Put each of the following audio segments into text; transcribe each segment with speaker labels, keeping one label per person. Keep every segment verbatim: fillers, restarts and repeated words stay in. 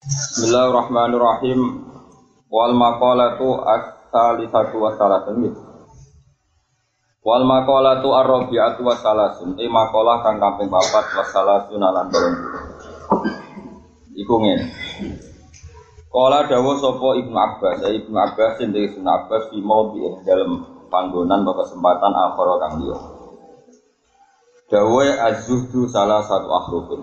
Speaker 1: Bismillahirrahmanirrahim. Wal maqalatu as-salisatu wasalatun. Wal maqalatu ar-rabi'atu wasalasun. E maqalah kang kaping papat wasalasun lan telung puluh. Iku ngene. Kala dawuh sapa Ibnu Abbas, ya Ibnu Abbas sing Ibnu Abbas fi maudhi dalam panggonan atau kesempatan akhara kang liya. Dawuh az-zuhdu salah satu akhrufin.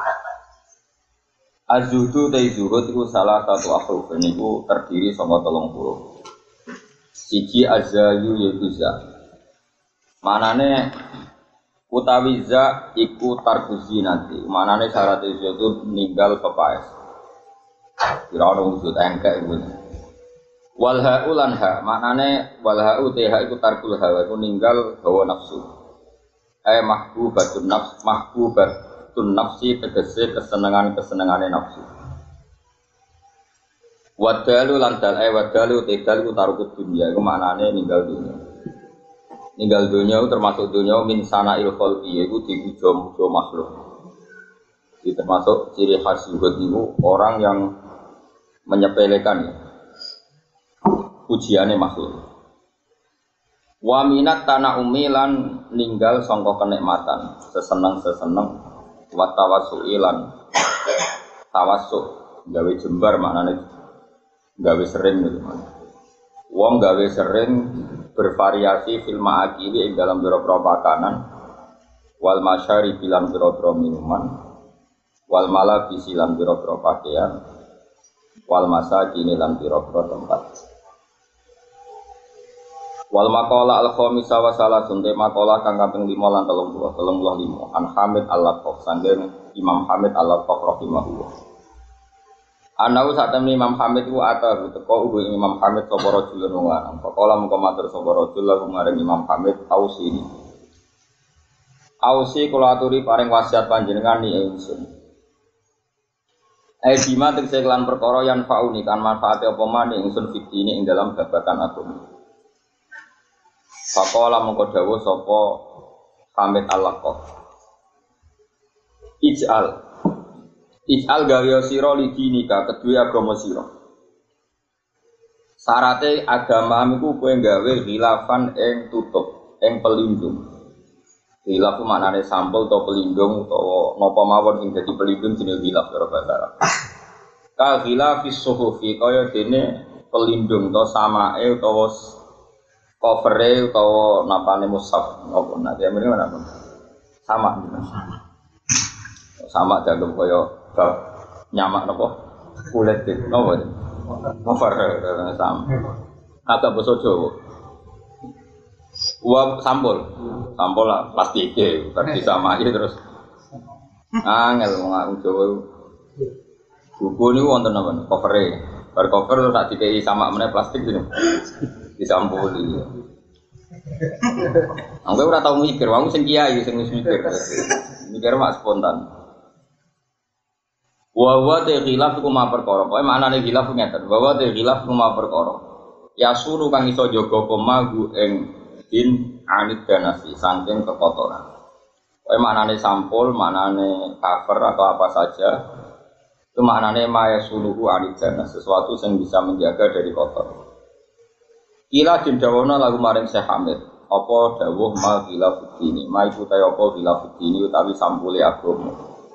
Speaker 1: Az-zuhdu ta zuhud iku salah satu akhruf niku terdiri saka telung puluh. Siji az-zayu yaiku za. Manane utawi za iku tarkuzi nanti. Manane syarat itu ninggal pepaes. Kira ono wujud engkek iku. Wal ha'u lan ha, manane wal ha'u teh iku tarkul hawa iku ninggal hawa nafsu. Ai mahbubatun nafs mahbubat tun nafsi tegese kesenangan-kesenangane nafsu. Wadalu lan dal ay wadalu tidal ku tarukut dunya iku maknane ninggal dunya. Ninggal dunya termasuk dunya min sana'il khalqi iku dipuja-puja makhluk. Itu termasuk ciri khas zuhud itu orang yang menyepelekan pujiane makhluk. Wa minat tanah umilan ninggal sangka kenikmatan, seseneng-seseneng wa tawassuilan tawassuk gawe jembar maknane gawe sering gitu maknane. Wong gawe sering bervariasi fil ma'akili ing dalam pira-pira makanan wal masyari bilang pira-pira minuman wal malabisi lan pira-pira pakaian wal masakini lan pira-pira tempat. Wal maqala al khamisa wa salasun te maqala kang kaping lima lan telung puluh telung puluh lima an Hamid al-Laqaf sanggeng Imam Hamid al-Laqaf rahimahullah. Anau satemene Imam Hamid ku ata teko ugo Imam Hamid sapa rajulun wong lanang. Faqala mengko matur sapa rajul lan maring Imam Hamid ausini. Ausi kula aturi paring wasiat panjenengan ni ingsun. Ai bima tegese lan perkara yang fauni kan manfaate apa maneh ingsun fitine ing dalam babagan agama. Faqala mengko dawuh sapa Hamid al-Laqaf. Ij'al Ij'al gawe sira lidinika kedue agama sira. Sarate agama iku kowe gawe khilafan ing tutup, ing pelindung. Khilaf ku maknane sampul utawa pelindung utawa napa mawon sing dadi pelindung jenenge khilaf cara bahasa Arab. Ka khilafis suhufi kaya dene pelindung utawa samae utawa cover-e utawa napane mushaf apa nek ya mrene napa sama sama sama dianggap kaya bab nyamak napa kulit iki napa cover sama agak basa Jawa wa sampul sampul lah plastik iki berarti sama aja terus angel wong Jawa buku niku wonten napa cover-e bar cover terus tak dikei sama meneh plastik iki disampuli. Anggo ora tau mikir, wong sing kiai sing wis mikir. Mikir mak spontan. Wa wa ta khilaf ku ma perkara. Pokoke maknane khilaf ngeten, wa wa ta khilaf ku ma perkara. Ya suruh kang iso jaga pemagu ing din anit danasi saking kekotoran. Pokoke maknane sampul, maknane cover atau apa saja. Itu maknane ma ya suruh anit danas, sesuatu yang bisa menjaga dari kotor. Ila dindawana lagu maring Syekh Hamid apa dawuh ma khilaf dini ma iku ta apa khilaf dini utawi sampule agama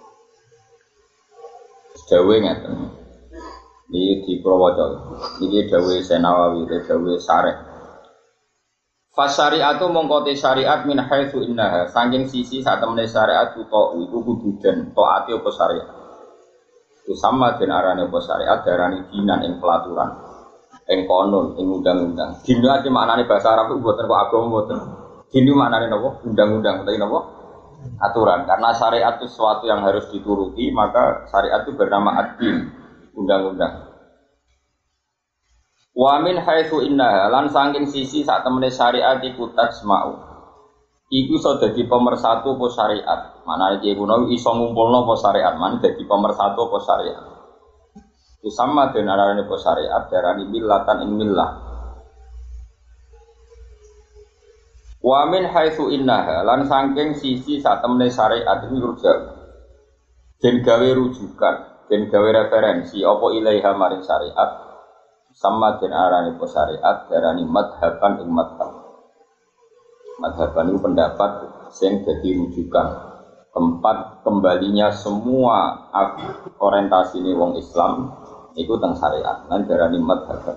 Speaker 1: dawuh ngeten iki diprawaca iki dawuh Senawawi dawuh Syarih Fasyariatu mongko te syariat min haitsu innaha saking sisi sak temene syariat uta iku kudu den taati apa syariat itu sama den arane apa syariat darani dinan ing pelaturan ing konon, ing undang-undang. Dinu ati maknane bahasa Arab itu mboten kok agama mboten. Dinu maknane napa? Undang-undang utawi napa? Aturan. Karena syariat itu sesuatu yang harus dituruti, maka syariat itu bernama ad-din, undang-undang. Wa min haitsu innaha lan saking sisi sak temene syariat iku tasma'u. Iku iso dadi pemersatu apa syariat. Manane iki kuno iso ngumpulno apa syariat, man dadi pemersatu apa syariat. Itu sama dengan arane po syariat darani millatan ing millah. Wa min haitsu innaha lan saking sisi sak temene syariat iki rujak. Den gawe rujukan den gawe referensi apa ilaiha maring syariat sama den arane po syariat darani madhaban ing madhab. Madhaban itu pendapat sing dadi rujukan tempat kembalinya semua orientasi ini wong Islam itu teng syariat lan darani madhaban.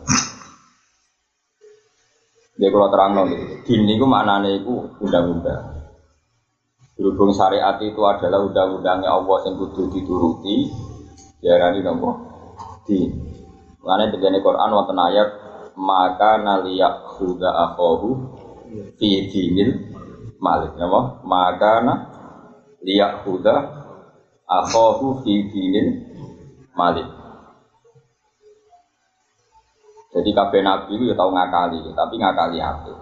Speaker 1: Dia kalau terang nol itu, din itu maknanya itu undang-undang. Berhubung syariat itu adalah undang-undangnya Allah yang kudu dituruti, diarani nopo din. Maknanya begini Quran wonten ayat maka naliyak huda akhohu fi dinil malik, nopo maka naliyak huda akhohu fi dinil malik. Jadi kabeh nabi itu ya tau ngakali, tapi ngakali apik.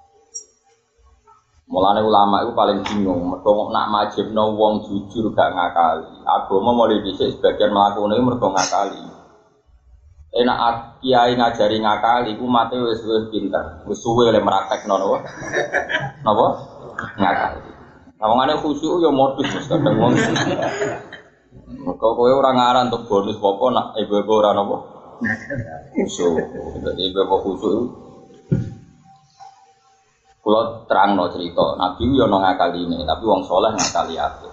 Speaker 1: Mulane ulama itu paling bingung, mergo nak majibno wong jujur gak ngakali. Agama mulai dhisik sebagian mlakune mergo ngakali. Enak kiai ngajari ngakali, umate wis wis pinter, wis suwe le praktekno napa? Napa? Ngakali. Ngomongane khusyuk ya modus wis kadang wong. Mergo kowe ora ngaran untuk bonus apa nak ibu-ibu ora napa? Khusyuk, jadi bapak khusyuk. Kalau terang no cerita, Nabi yo no ngakali ini, tapi wong soleh ngakali apa?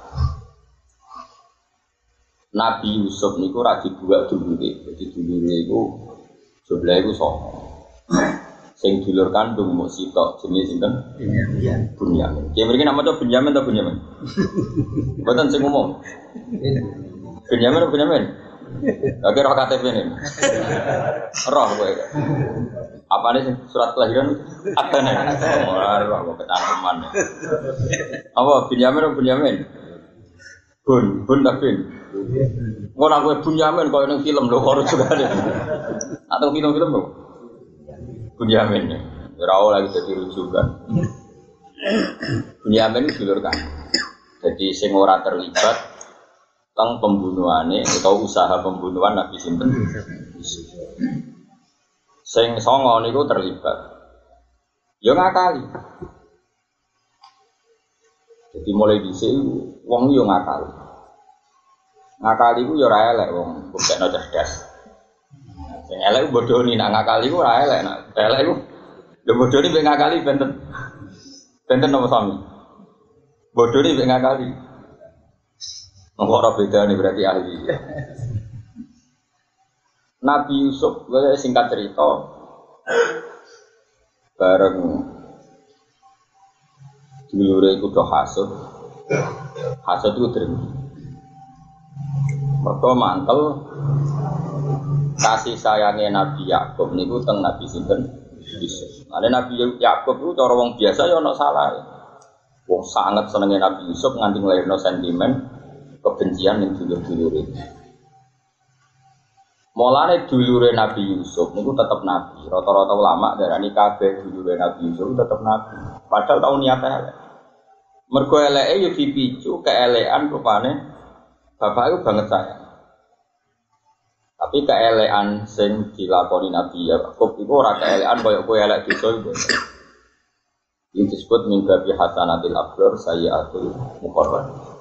Speaker 1: Nabi Yusuf niku radi buat dulu deh, jadi dulu itu sebelah itu sono. Sing dulur kandung mau sitok jenis itu Bunyamin. Dia berikan nama tu Bunyamin atau Bunyamin? Bukan sing umum. Bunyamin atau Bunyamin? Oke, roh K T P ini. Roh gue. Apa nih surat kelahiran? Ada nih. Oh, roh gue kecantuman. Apa Bunyamin atau Bunyamin? Bun, bun tak bin. Orang gue Bunyamin kalau yang film loh, harus juga ada. Atau film-film loh. Bunyamin nih. Raul lagi jadi rujukan. Bunyamin dulurkan. Jadi sing ora terlibat tentang pembunuhannya atau usaha pembunuhan Nabi Sinten. Sing songo niku terlibat. Ya ngakali. Jadi mulai dhisik wong yo ngakali. Ngakali ku yo ora elek wong, buktekno cerdas. Sing elek bodoni nak ngakali ku ora elek, nak elek ku lho bodoni mek ngakali benten. Benten nopo sami? Bodoni mek ngakali. Orang beda nih berarti ahli. Nabi Yusuf, gue singkat cerita, bareng dulure iku do hasud, hasud itu terima. Mergo mantel kasih sayangnya Nabi Yakub niku teng Nabi sinten Yusuf. Ada Nabi Yakub itu cara wong biasa ya ono salah. Wong sangat senengnya Nabi Yusuf nganti nglairno sentimen kebencian yang dulur-dulure. Mulane dulure Nabi Yusuf niku tetep nabi. Rata-rata ulama darani kabeh dulure Nabi Yusuf tetep nabi. Padahal tau niate elek. Mergo eleke yo dipicu keelekan rupane bapak itu banget sayang. Tapi keelekan sing dilakoni Nabi Yakub iku ora keelekan koyo kowe elek desa iku. Iki disebut min babi hasanatil abrar sayyiatul muqarrab.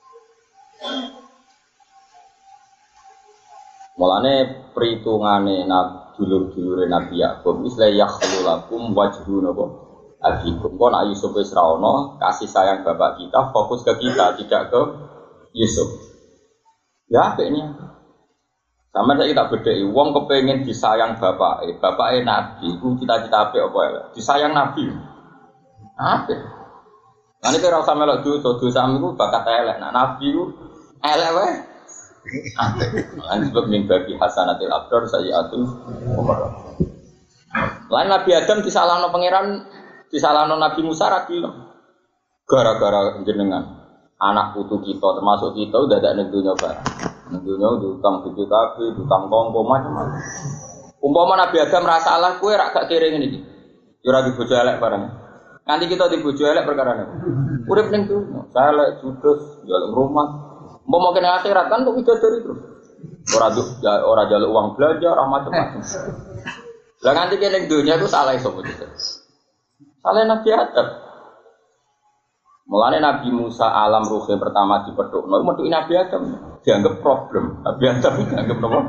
Speaker 1: Mulane perhitungane nabi dulur-dulure Nabi Yakub wis la yakhlulakum wajhun apa abikum. Kok nak Yusuf wis ra ono, kasih sayang bapak kita fokus ke kita, tidak ke Yusuf. Ya apiknya. Sama saya tak bedheki wong kepengin disayang bapake, bapake nabi iku cita-cita apik apa ya? Disayang nabi. Apik. Lan iki ora usah melok dosa, dosamu iku bakat elek. Nah nabi iku elek wae. Lan sebab min babi hasanatil abrar sayyiatul muqarrab. Lan Nabi Adam disalahno pangeran, disalahno Nabi Musa ra gelem. Gara-gara jenengan anak putu kita termasuk kita udah ada ning dunya barang. Ning dunya utang B P K B, utang kongko macam-macam. Umpama Nabi Adam ra salah kowe ra gak kere ngene iki. Ya ora dibojo elek barang. Nanti kita dibojo elek perkara ne. Urip ning dunya, saleh judus, njaluk rumah. Mau mau kena akhirat kan untuk bidadari terus. Orang ya, orang jaluk uang belanja, orang macam-macam. Lah nanti kena dunia itu salah itu betul. Salah Nabi Adam. Mulane Nabi Musa alam ruhe pertama dipethukno, metuki Nabi Adam dianggap problem. Nabi Adam dianggap apa?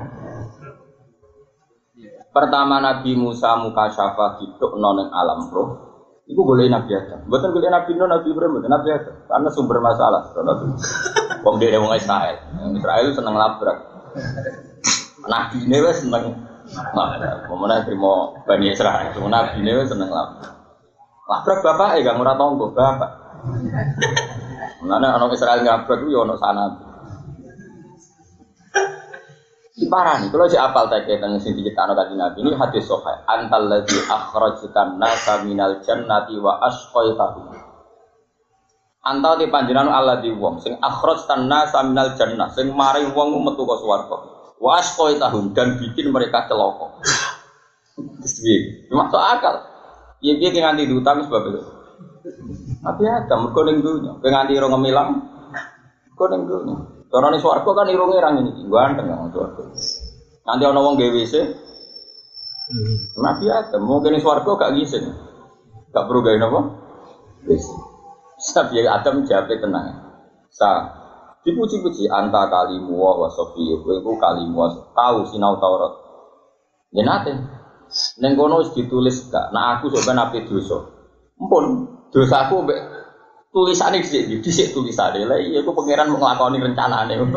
Speaker 1: Pertama Nabi Musa mukasyafah dipethukno ning alam ruh. Iku boleh Nabi Adam. Mboten boleh Nabi Nuh, Nabi Ibrahim, mboten Nabi Adam. Karena sumber masalah. Wong dhewe wong Israel. Israel seneng labrak. Nabi ne wis seneng. Nah, pemene trimo Bani Israil. Nabi ne wis seneng labrak. Labrak bapake gak ora tanggo bapak. Mana anak Israel ngabrak itu ya anak sana. Parah nih, kalau si apal tak tentang sini kita anak kaji Nabi ini hadis sahih. Antal ladzi akhrajtan nasa minal jannati wa asqaitahu. Antal di panjenengan Allah di wong sing akhrajtan nasa minal jannah sing mari wong metu ka swarga. Wa asqaitahu dan bikin mereka celaka. Piye? Masuk akal. Piye-piye nganti diutang sebab itu. Tapi ada mergo ning dunya, penganti ora ngemilang. Mergo ning dunya. Cara ning swarga kan irunge ra ngene iki, ganteng nang swarga. Nanti ana wong gawe W C. Nabi Adam mungkin ning swarga gak ngisin. Gak perlu gawe napa? W C. Tapi Adam jape tenang. Sa dipuji-puji anta kalimu wa sofiyu, kowe iku kalimu tahu sinau Taurat. Ya nate. Ning kono wis ditulis gak, nek aku sampeyan ape dosa. Ampun. Dosaku mbek tulisane dhisik dhisik tulisane. Lah iya ku pangeran mau nglakoni rencanane ngono.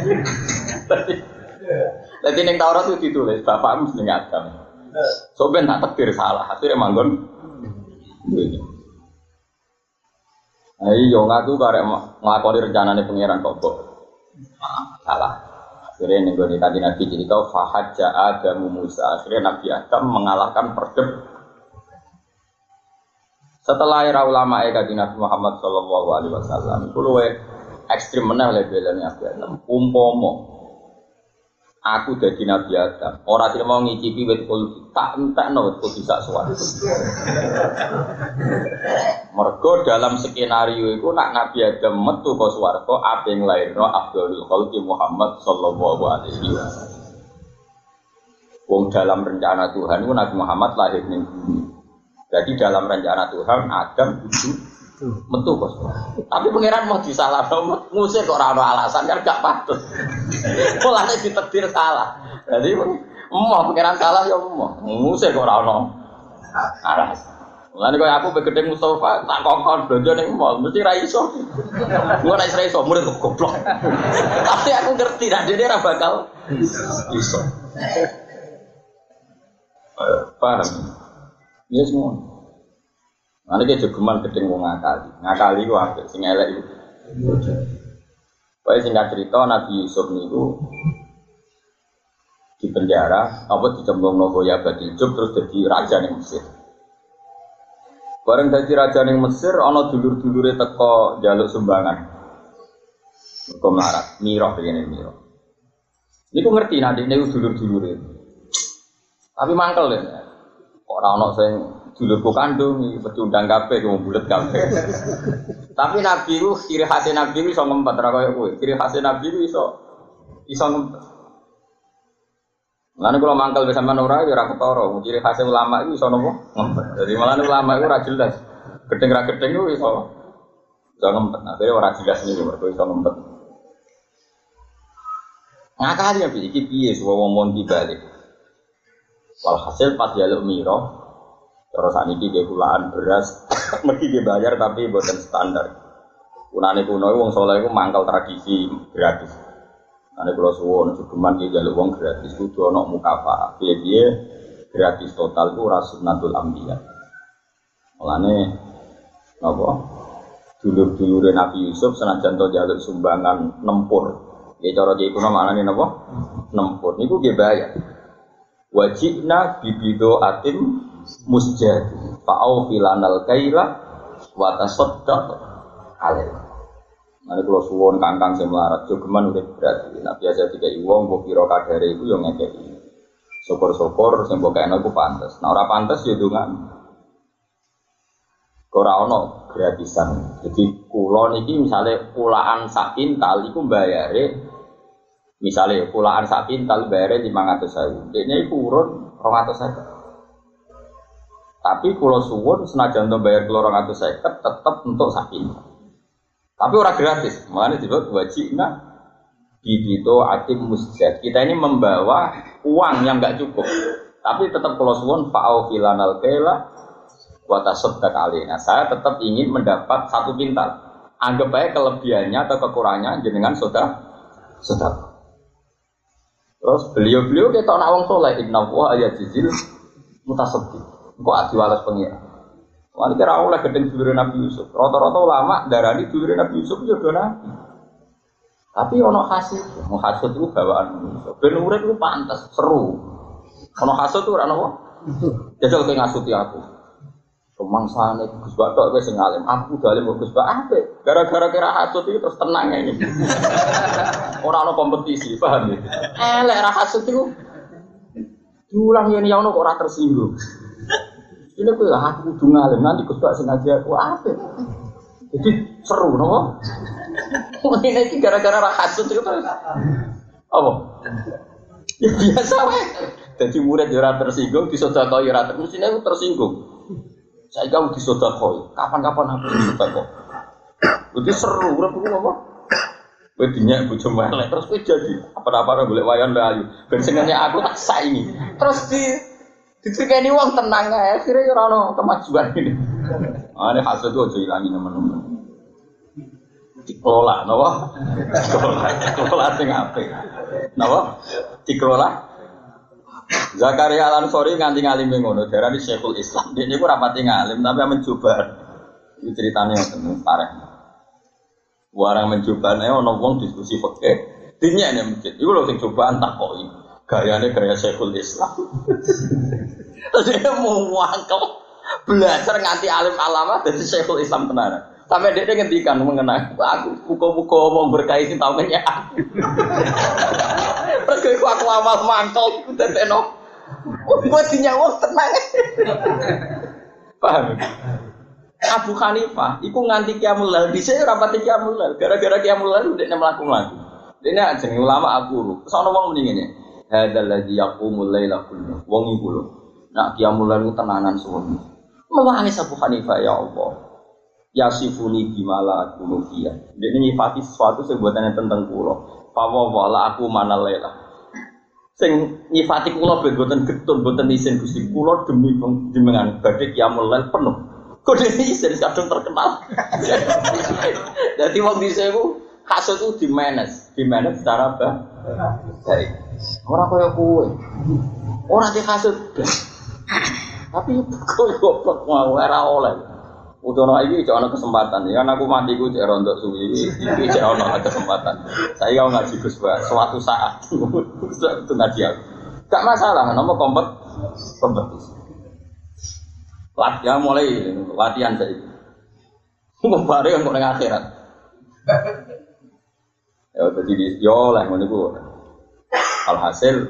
Speaker 1: Dadi ning Taurat itu ditulis bapakmu jeneng Adam. Soben tak takdir salah, akhire manggon. Ayo ngaku karek nglakoni rencanane pangeran kok kok. Salah. Akhire ning gone kanjeng Nabi cerita fahajja Adamu Musa. Akhire Nabi Adam mengalahkan perdeb. Setelah era ulama eka di Nabi Muhammad Sallallahu Alaihi Wasallam, itu luwe ekstrim meneh levelnya Nabi Adam. Umpomo, aku jadi Nabi Adam. Orang tidak mau ngicipi wet kulti, tak entek no wet kulti sak suara. Mergo dalam skenario itu nak Nabi Adam metu ke swarga, apa yang lahir no Abdul Khalqi Muhammad Sallallahu Alaihi Wasallam. Wong dalam rencana Tuhan itu Nabi Muhammad lahir ning bumi. Jadi dalam rencana Tuhan Adam itu metu kos. Tapi pangeran mau disalahno, ngusir kok ora ana alasan kan gak patut. Mulane ditakdir salah. Jadi emoh pangeran salah ya emoh. Ngusir kok ora ana alasan. Mulane koyo aku begede Mustafa tak kokon blonjo ning mall mesti ra iso. Gua nek ra iso murid goblok. Tapi aku ngerti nek dene ra bakal iso. Paham? Iya semua. Nanti kita jogeman gedeng wong ngakali, ngakali ku apik, sing elek itu. Baik singkat cerita Nabi Yusuf niku di penjara, apa dicemplung nopo ya badil jub terus jadi raja ning Mesir. Bareng dadi raja ning Mesir, ana dulur-dulure teko njaluk sumbangan. Mergo melarat, mirah begini mirah. Niku ngerti nek niku dulur-dulure. Tapi mangkel ya. Ora ana sing dulurku kandung iki pecundang kabeh wong bulet kabeh. Tapi Nabi ku ciri khas Nabi ku iso ngempet ra koyo kowe. Ciri khas Nabi ku iso iso ngempet. Lan kula mangkel wis sampean ora ya ora ketara. Ciri khas ulama iku iso napa? Ngempet. Dadi malah ulama iku ora jelas. Gedeng ra gedeng ku iso iso ngempet. Akhire ora jelas niku mergo iso ngempet. Ngakali ya iki piye wong mon dibalik. Walhasil pas jaluk miro, terus saniki dia kulaan beras, mesti dia bayar tapi bukan standar. Kunane kuno wong soleh itu mangkal tradisi gratis. Ane kalau suwon cukuman dia jaluk wong gratis, kudu ono mukafa. Dia dia gratis total itu rasunatul ambiya. Mulane, apa? Dulur-dulur Nabi Yusuf senajan to jaluk sumbangan nempur. Dia cara dia kuno maknane napa? Nempur. Niku dia bayar. Wajibna bibido atim musjad fa'au filanal kaila wa tasaddaq alaih. Mane kula suwun kangkang sing melarat jogeman urip berarti. Nek biasa dikai wong mbok kira kadare iku ya ngekeki. Syukur-syukur sing mbok kene iku pantes. Nek ora pantes ya ndonga. Ora ana gratisan. Jadi kula niki misale kulaan sak kintal iku mbayare misalnya pulaan sak kintal bayarnya lima ratus ribu, ini itu urun dua ratus ribu. Tapi kalau suwun senajan untuk bayar dua ratus ribu tetap untuk sak kintal. Tapi orang gratis. Makanya disebut wajibna bibito atim musjad. Kita ini membawa uang yang enggak cukup. Tapi tetap kalau suwun fa'au filanal kaila wa tasaddaq alaina. Saya tetap ingin mendapat satu pintal. Anggap aja kelebihannya atau kekurangannya jenengan sudah sudah. Terus beliau-beliau kita nak wong saleh inna wa ayajizil mutasaddiq. Engko adiwalas pengira. Wali kira oleh gedeng dulure Nabi Yusuf. Rata-rata ulama darani dulure Nabi Yusuf yo do nabi. Tapi ono hasud, ono hasud itu bawaan manusia. Ben urip ku pantes, seru. Ono hasud itu ora ono. Jajal kowe ngasuti aku. Rumangsane Gus Bak tok wis sing alim. Aku dalim Gus Bak apik. Gara-gara kira hasud iki terus tenang ini. Ora ono kompetisi, paham ya? Elek ra hasud iku. Diulang yen ya ono kok ora tersinggung. Ini aku aku kudu ngalim nanti Gus Bak sing ngaji aku apik. Jadi seru nopo? Ini iki gara-gara ra hasud itu. Apa? Ya biasa wae. Dadi murid ya ora tersinggung, disodakoi ora terus mestine tersinggung. Saya kau disodakoi. Kapan-kapan aku disodakoi. Jadi seru urip ku apa? Kowe dinyak bojo melek terus kowe jadi apa-apa golek wayan layu. Ben sengene aku tak saingi. Terus di dicerkeni wong tenang ae, akhire ora ono kemajuan ini. Ah nek hasud ojo ilangi teman-teman. Dikelola, napa? Dikelola, dikelola sing apik. Napa? Dikelola. Zakaria Al-Ansori nganti ngalime ngono, darani Syekhul Islam. Dia niku rapati ngalim tapi mencoba. Iki ceritane ngoten, parah. Warang mencobane ana wong diskusi fikih. Dinyek nek masjid. Iku lho sing cobaan takoki. Gayane gaya Syekhul Islam. Terus dia mau wangkel belajar nganti alim alama dari Syekhul Islam tenan. Sampai dia ngendikan mengenai aku buka-buka wong berkait sing tau menyek. Terus aku aku amal mangkel teteno. Gua dinyawa tenang. Paham? Abu Hanifah iku nganti Qiyamul Lail dhisik ora pati Qiyamul Lail. Gara-gara Qiyamul Lail ndekne mlaku-mlaku. Dene jenenge ulama aku. Sono wong muni ngene. Hadzal ladzi yaqumul laila kullu. Wong iku lho. Nak Qiyamul Lail tenanan suwi. Mewangis Abu Hanifah ya Allah. Yasifuni bimala aku fiya. Dene nyifati sesuatu sing buatane tentang kula. Fa wala aku mana laila. Sing nyifati kula ben boten getun boten isin Gusti kula demi jenengan badhe Qiyamul Lail penuh. Kode isin kadung terkenal. Dadi wong dhisik ku hasud ku di manage, di manage secara baik. Ora kaya kowe. Ora di hasud. Tapi kok goblok mau ora oleh. Utono iki cek ana kesempatan ya aku mati ku cek rondok suwi iki cek ana kesempatan. Saya mau ngaji Gus Bak suatu saat itu ngaji aku. Gak masalah nomor kompet kompetisi. Latihan mulai latihan saiki. Mau bare kok ning akhirat. Ya dadi yo lah ngono iku. Alhasil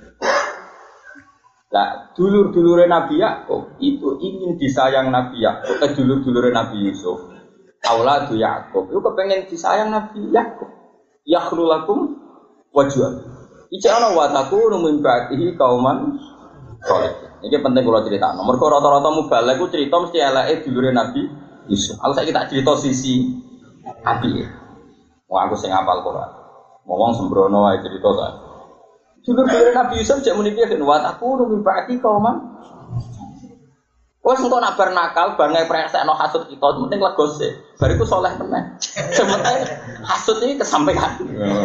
Speaker 1: lah dulur-dulure Nabi Yakub itu ingin disayang Nabi Yakub, eh dulur-dulure Nabi Yusuf. Auladu Yakub itu kepengen disayang Nabi Yakub. Yakhlulakum wajhan. Iki ana wa takunu min ba'dihi qauman salih. Iki penting kula critakno. Mergo rata-rata mubalek ku crita mesti eleke dulure Nabi Yusuf. Aku saiki tak crita sisi apike. Wong aku sing hafal Quran. Wong sembrono wae crita ta. Dulur-dulur Nabi Yusuf cek muni piye kan wa aku nunggu bati kauman. Wes engko nak bar nakal, bar ngepresekno hasud kita, penting legose. Bariku saleh meneh. Sementara hasud iki kesampaian.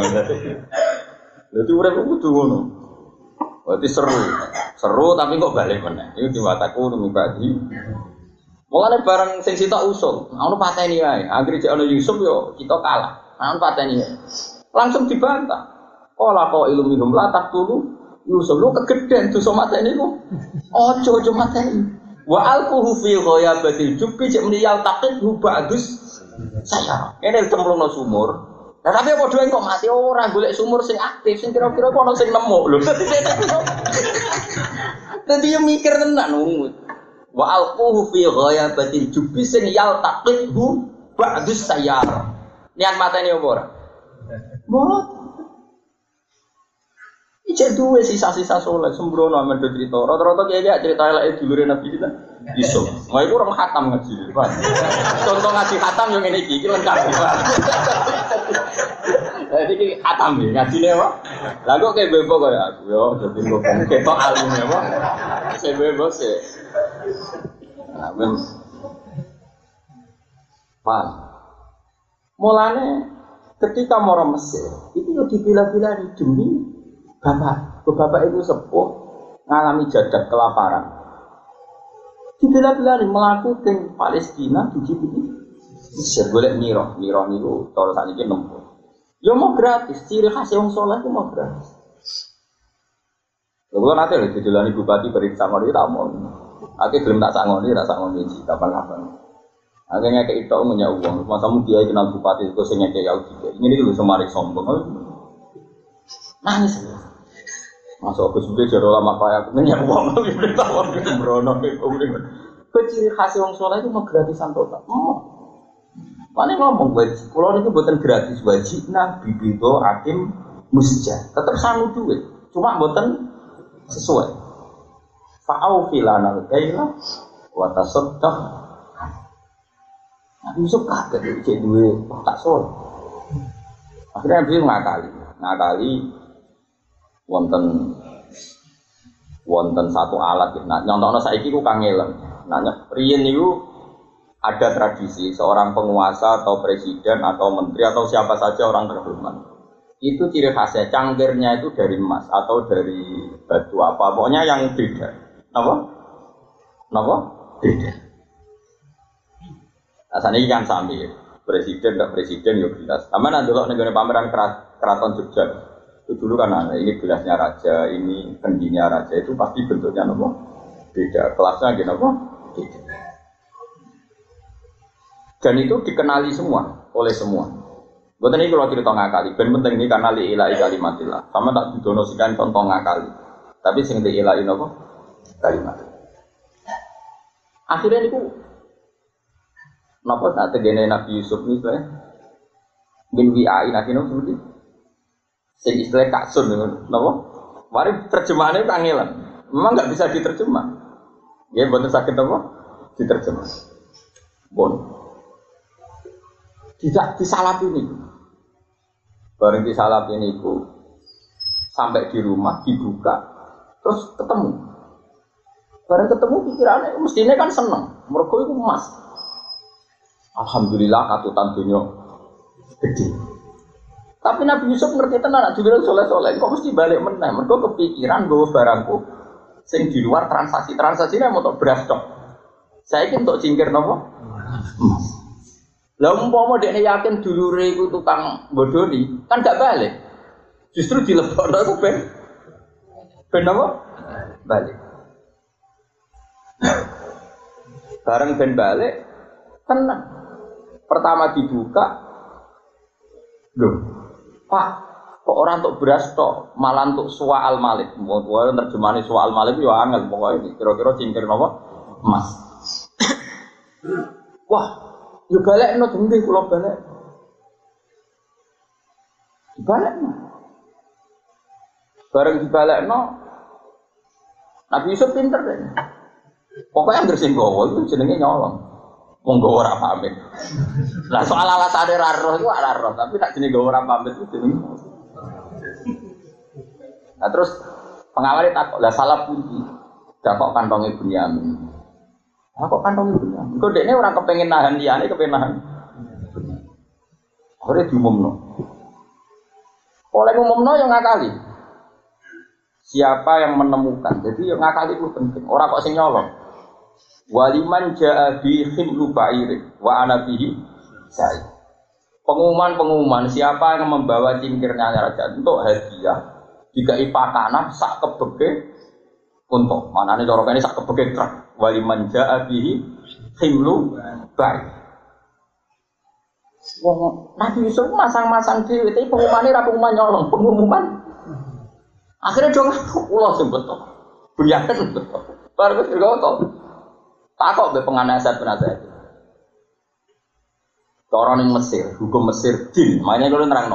Speaker 1: Dadi urip kudu ngono. Berarti seru. Seru tapi kok balik meneh. Iku diwataku nunggu bati. Mulane barang sing sitok usul, ono pateni wae. Anggere cek ono Yusuf yo kita kalah. Ono pateni. Langsung dibantah. Kala kok ilmu minum latak dulu, Yusuf lu kegeden dosa mateni ku. Ojo ojo mateni. Wa alquhu fi ghayabatil jubbi cek meniyal taqid hu bagus. Saya. Ini cemplungno sumur. Nah tapi padha kok mati ora golek sumur sing aktif sing kira-kira ono sing nemu lho. Dadi yo mikir tenan nungut. Wa alquhu fi ghayabatil jubbi sing yal taqid hu bagus saya. Niat mateni opo ora? Mbok Ijek duwe sisa-sisa soleh sembrono amen do cerita. Rata-rata kiai cerita eleke dulure Nabi kita iso. Wah iku orang khatam ngaji. Contoh ngaji khatam yo ngene iki, iki lengkap. Lah iki khatam iki ngajine apa? Lah kok kayak bebo kaya aku yo dadi kok ketok alim apa? Saya bebo sih. Nah, men Paham? Mulane ketika mau Mesir, itu yo dipilah-pilah demi bapak. Bapak itu sepuh ngalami jadak kelaparan. Dipilah-pilah melaku ke Palestina tujuh ini. Mesir golek miro, miro niku cara sakniki nempuh. Yo mau gratis, ciri khas wong saleh ku mau gratis. Lha kula nate lho didelani bupati periksa ngono iki tak mon. Ake gelem tak sangoni, tak sangoni iki kapan-kapan. Akhirnya kayak itu punya uang, masamu dia kenal bupati itu sehingga kayak Yaudi. Ini dulu semarik sombong, nangis. Masuk aku sudah jadi lama kayak aku punya uang, tapi berita uang itu berono. Keciri khas uang soleh itu mau gratisan total. Oh, mana ngomong wajib? Kalau itu buatan gratis wajib, nah bibito hakim musjah, tetap sanggup duit, cuma buatan sesuai. Fa'au filana kailah, watasodah. Yusuf kaget cek duwe tak sol. Akhirnya dia ngakali, ngakali wonten wonten satu alat. Nah, nyontokno saiki ku kangelan. Nah, riyen niku ada tradisi seorang penguasa atau presiden atau menteri atau siapa saja orang terhormat. Itu ciri khasnya cangkirnya itu dari emas atau dari batu apa, pokoknya yang beda. Napa? Napa? Beda. Asane iki kan sami, presiden enggak presiden yo gelas. Aman ndelok ning pameran keraton Jogja. Itu dulu kan ada, ini gelasnya raja, ini kendinya raja, itu pasti bentuknya nopo beda, kelasnya gitu nopo beda. Dan itu dikenali semua oleh semua. Bukan ini kalau cerita ngakali, ben penting ini karena li ilahi kalimatillah. Sama tak didonosikan contoh ngakali, tapi sing li ilahi nopo kalimat. Akhirnya itu napa tak tegene Nabi Yusuf ni saya bin wi'ai nabi no seperti sing istilah kaksun napa mari terjemahannya kangelan memang enggak bisa diterjemah ya mboten saged apa diterjemah bon tidak disalap ini bareng disalap ini itu sampai di rumah dibuka terus ketemu bareng ketemu pikirannya mestinya kan seneng mergo iku emas. Alhamdulillah katutan dunia gede. Tapi Nabi Yusuf ngerti tenan juga soleh-soleh. Kok mesti balik meneh? Mergo kepikiran gue barangku sing di luar transaksi. Transaksi ini untuk beras tok. Saya ini untuk cingkir nopo. Lah umpama dekne yakin dulure iku tukang bodoni, kan gak balik. Justru dilebokno ku ben ben apa? Balik. Bareng ben balik tenang. Pertama dibuka, loh, Pak, kok orang untuk beras toh, malah untuk suwa al malik. Mau terjemahan suwa al malik ya angel pokoknya. Kira-kira cingkir apa? Emas. Wah, yo balik no dengki kula balik. Dibalik no. Bareng dibalik no. Nabi Yusuf pinter deh. Pokoknya yang bersinggowo itu jenenge nyolong. Monggo ora pamit. Lah soal alasane ra roh iku ora roh, tapi nek jenenge ora pamit itu jenenge. Nah terus pengawale takok, lah salah pundi. Dakok kantonge Bunyamin. Lah kok kantonge Bunyamin? Kok dekne ora kepengin nahan liyane, kepengin nahan. Ora diumumno. Oleh umumno yang ngakali. Siapa yang menemukan? Jadi yang ngakali itu penting. Ora kok sing nyolong. Waliman jaa bi khimlu ba'ir wa ana bihi sa'id. Pengumuman-pengumuman siapa yang membawa cingkirnya raja untuk hadiah dikai pakanan sak kebeke untuk manane cara kene sak kebeke truk waliman jaa bihi khimlu ba'ir. Wong Nabi Yusuf masang-masang dhewe tapi pengumumane ra pengumuman nyolong, pengumuman. Akhirnya dong ulah sing betul. Bunyakan betul. Baru kok takok be penganasat penasihat. Cara ning Mesir, hukum Mesir din, makanya kalau nerangno.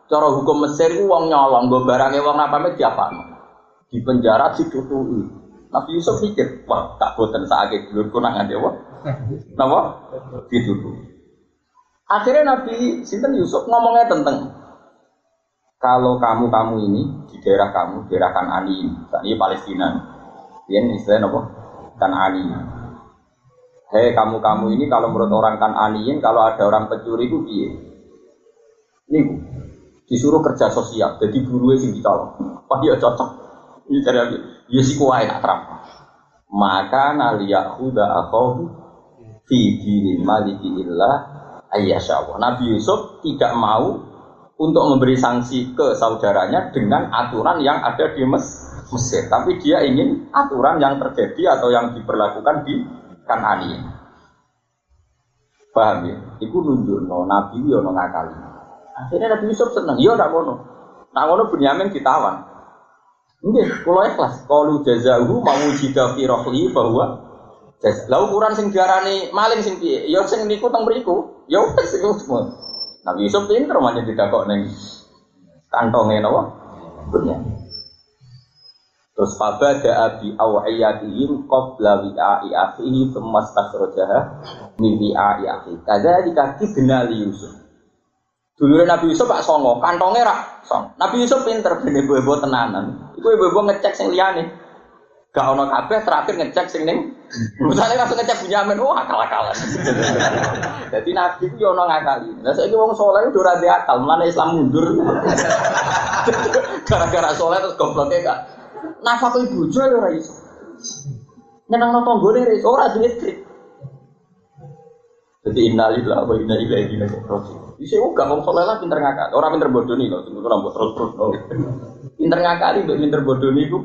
Speaker 1: Cara hukum Mesir ku wong nyolong nggo barange wong napame diapakno. Di penjara ditutuki. Nabi Yusuf pikir, wah tak boten sakake dulurku nang ngene wae. Napa? Ditutuki. Akhirnya Nabi sinten Yusuf ngomongnya tentang kalau kamu-kamu ini di daerah kamu, daerah Kan'ani ini, ini Palestina. Ini istilahnya apa? Kan'ani. Hei kamu-kamu ini kalau menurut orang Kan'aniin kalau ada orang pencuri itu piye? Ini disuruh kerja sosial, jadi burunya sing dicolong. Wah ya cocok. Ini cari lagi. Ya si kuai nak terang. Maka naliyahuda akhahu fi dinil maliki illah ayyashawa. Nabi Yusuf tidak mau untuk memberi sanksi ke saudaranya dengan aturan yang ada di Mesir, tapi dia ingin aturan yang terjadi atau yang diberlakukan di Kan'ani. Paham ya? Iku nunjukno Nabi yo ono ngakali. Akhirnya Nabi Yusuf seneng, yo ndak ngono. Nak ngono Bunyamin ditawan. Nggih, kula ikhlas. Qalu jazahu mawujida fi rahli bahwa jaz. Lah ukuran sing diarani maling sing piye? Ya sing niku teng mriku. Ya wis iku semua. Nabi Yusuf pinter manja didakok ning kantonge napa? Bunyamin. Terus fabada abi awiyatihim qabla wi'a'i akhihi thumma stakhrajaha min wi'a'i akhihi. Kadzalika kidna li Yusuf. Dulure Nabi Yusuf Pak songo, kantonge rak song. Nabi Yusuf pinter ben ibu-ibu tenanan. Iku ibu-ibu ngecek sing liyane. Gak ono kabeh terakhir ngecek sing ning. Misale langsung ngecek Bunyamin, wah akal-akalan. Dadi Nabi ku yo ono ngakali. Lah saiki wong saleh udah ora ndek akal, mlane Islam mundur. Gara-gara saleh terus gobloke gak nafkah ibu bojo ora iso. Nyenengno tanggane ora iso, ora duwe trik. Jadi innalillahi wa inna ilaihi raji'un. Wis kok gak wong saleh lah pinter ngakak. Ora pinter bodoni lho, sing ora mbok terus-terus. Pinter ngakali mbek pinter bodoni iku.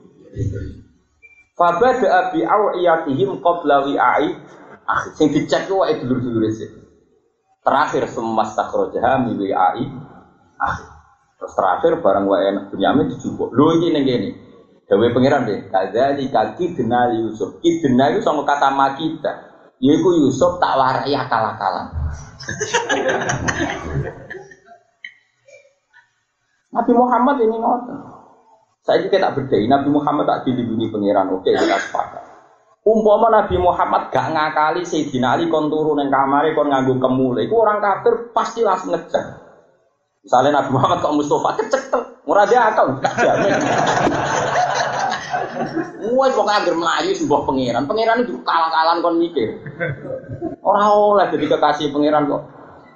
Speaker 1: Fabada bi awiyatihim qabla wi'a'i akhi. Sing dicek ku wae dulur-dulure sik. Terakhir semas takhrajaha mi wi'a'i akhi. Terus terakhir barang wae Bunyamin dijupuk. Lho iki ning kene. Dewe pangeran deh, kadzali kaki denal Yusuf. Ki denal itu sama kata makita. Yaiku Yusuf tak warai akal-akalan. Nabi Muhammad ini ngoten. Saya juga tak berdaya. Nabi Muhammad tak dilindungi pangeran. Oke, kita sepakat. Umpama Nabi Muhammad gak ngakali Sayyidina Ali kon turu ning kamare kon nganggo kemule. Iku orang kafir pasti langsung ngejar. Misalnya Nabi Muhammad kok Mustafa kecekel, ora dia akal, gak jamin. Wes pokoke anggere mlayu sembah pangeran. Pangeran itu kalah-kalan kon mikir. Ora oleh jadi kekasih pangeran kok.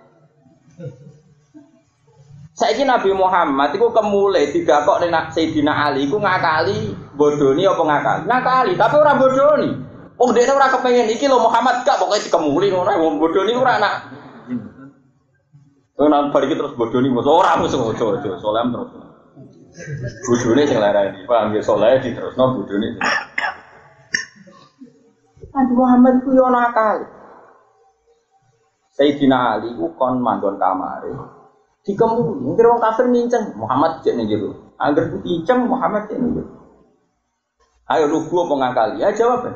Speaker 1: Saiki Nabi Muhammad iku kemule digakok ning Sayyidina Ali iku ngakali, bodoni apa ngakali? Ngakali, tapi ora bodoni. Wong dene ora kepengin iki lho Muhammad gak pokoke dikemuli ngono, wong bodoni ora anak. Nang bari terus bodoni mos ora mos ojo-ojo, soleh terus. Bodone sing larani, paham ya soleh diterusno bodone. Nabi Muhammad ku yo ana akal. Sayyidina Ali ku kon manggon kamare. Dikemuli, ngger wong kafir ninceng Muhammad cek ning jero. Angger diceng Muhammad cek ning jero. Ayo lugu apa ngakali? Ya jawab.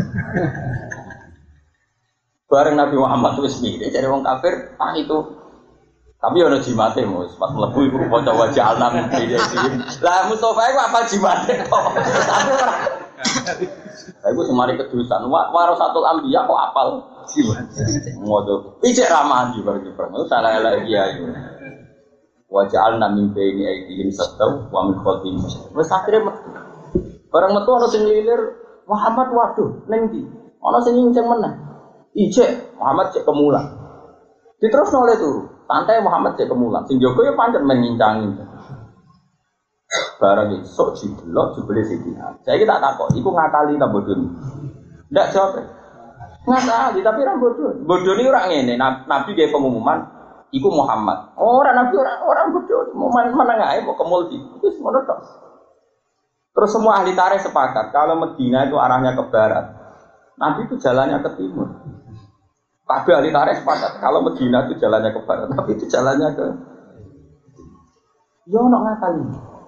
Speaker 1: Bareng Nabi Muhammad wis mikir jare wong kafir, ah itu tapi ono jimate Mus, pas mlebu iku kanca wajah alam iki. Lah Mustofa iku apa jimate kok. Tapi ora. Lah iku semari kedusan, warasatul anbiya kok apal jimate. Ngodo. Ijek ramahan di bareng bareng. Salah elek kiai. Wajah alam min baini aidihim satau wa min khalfihim. Wes akhire metu. Bareng metu ono sing lilir, Muhammad waduh ning ndi? Ono sing nginceng meneh. Ijek Muhammad cek kemulan. Diterusno oleh turu. Santai Muhammad cek kemulan, sing jaga ya pancen mengincangin. Barang iki sok jiblok jebule Sidina. Saiki tak takok, iku ngakali ta bodoni? Ndak jawab. Ngakali tapi ra bodoni. Bodoni ora ngene, Nabi gawe pengumuman iku Muhammad. Ora Nabi ora ora bodoni, mau meneng ae mau kemul iki. Wis ngono tok. Terus semua ahli tarikh sepakat kalau Medina itu arahnya ke barat. Nabi itu jalannya ke timur. Kabeh ahli tarikh sepakat kalau Medina itu jalannya ke barat, tapi itu jalannya ke yo ono ngakali.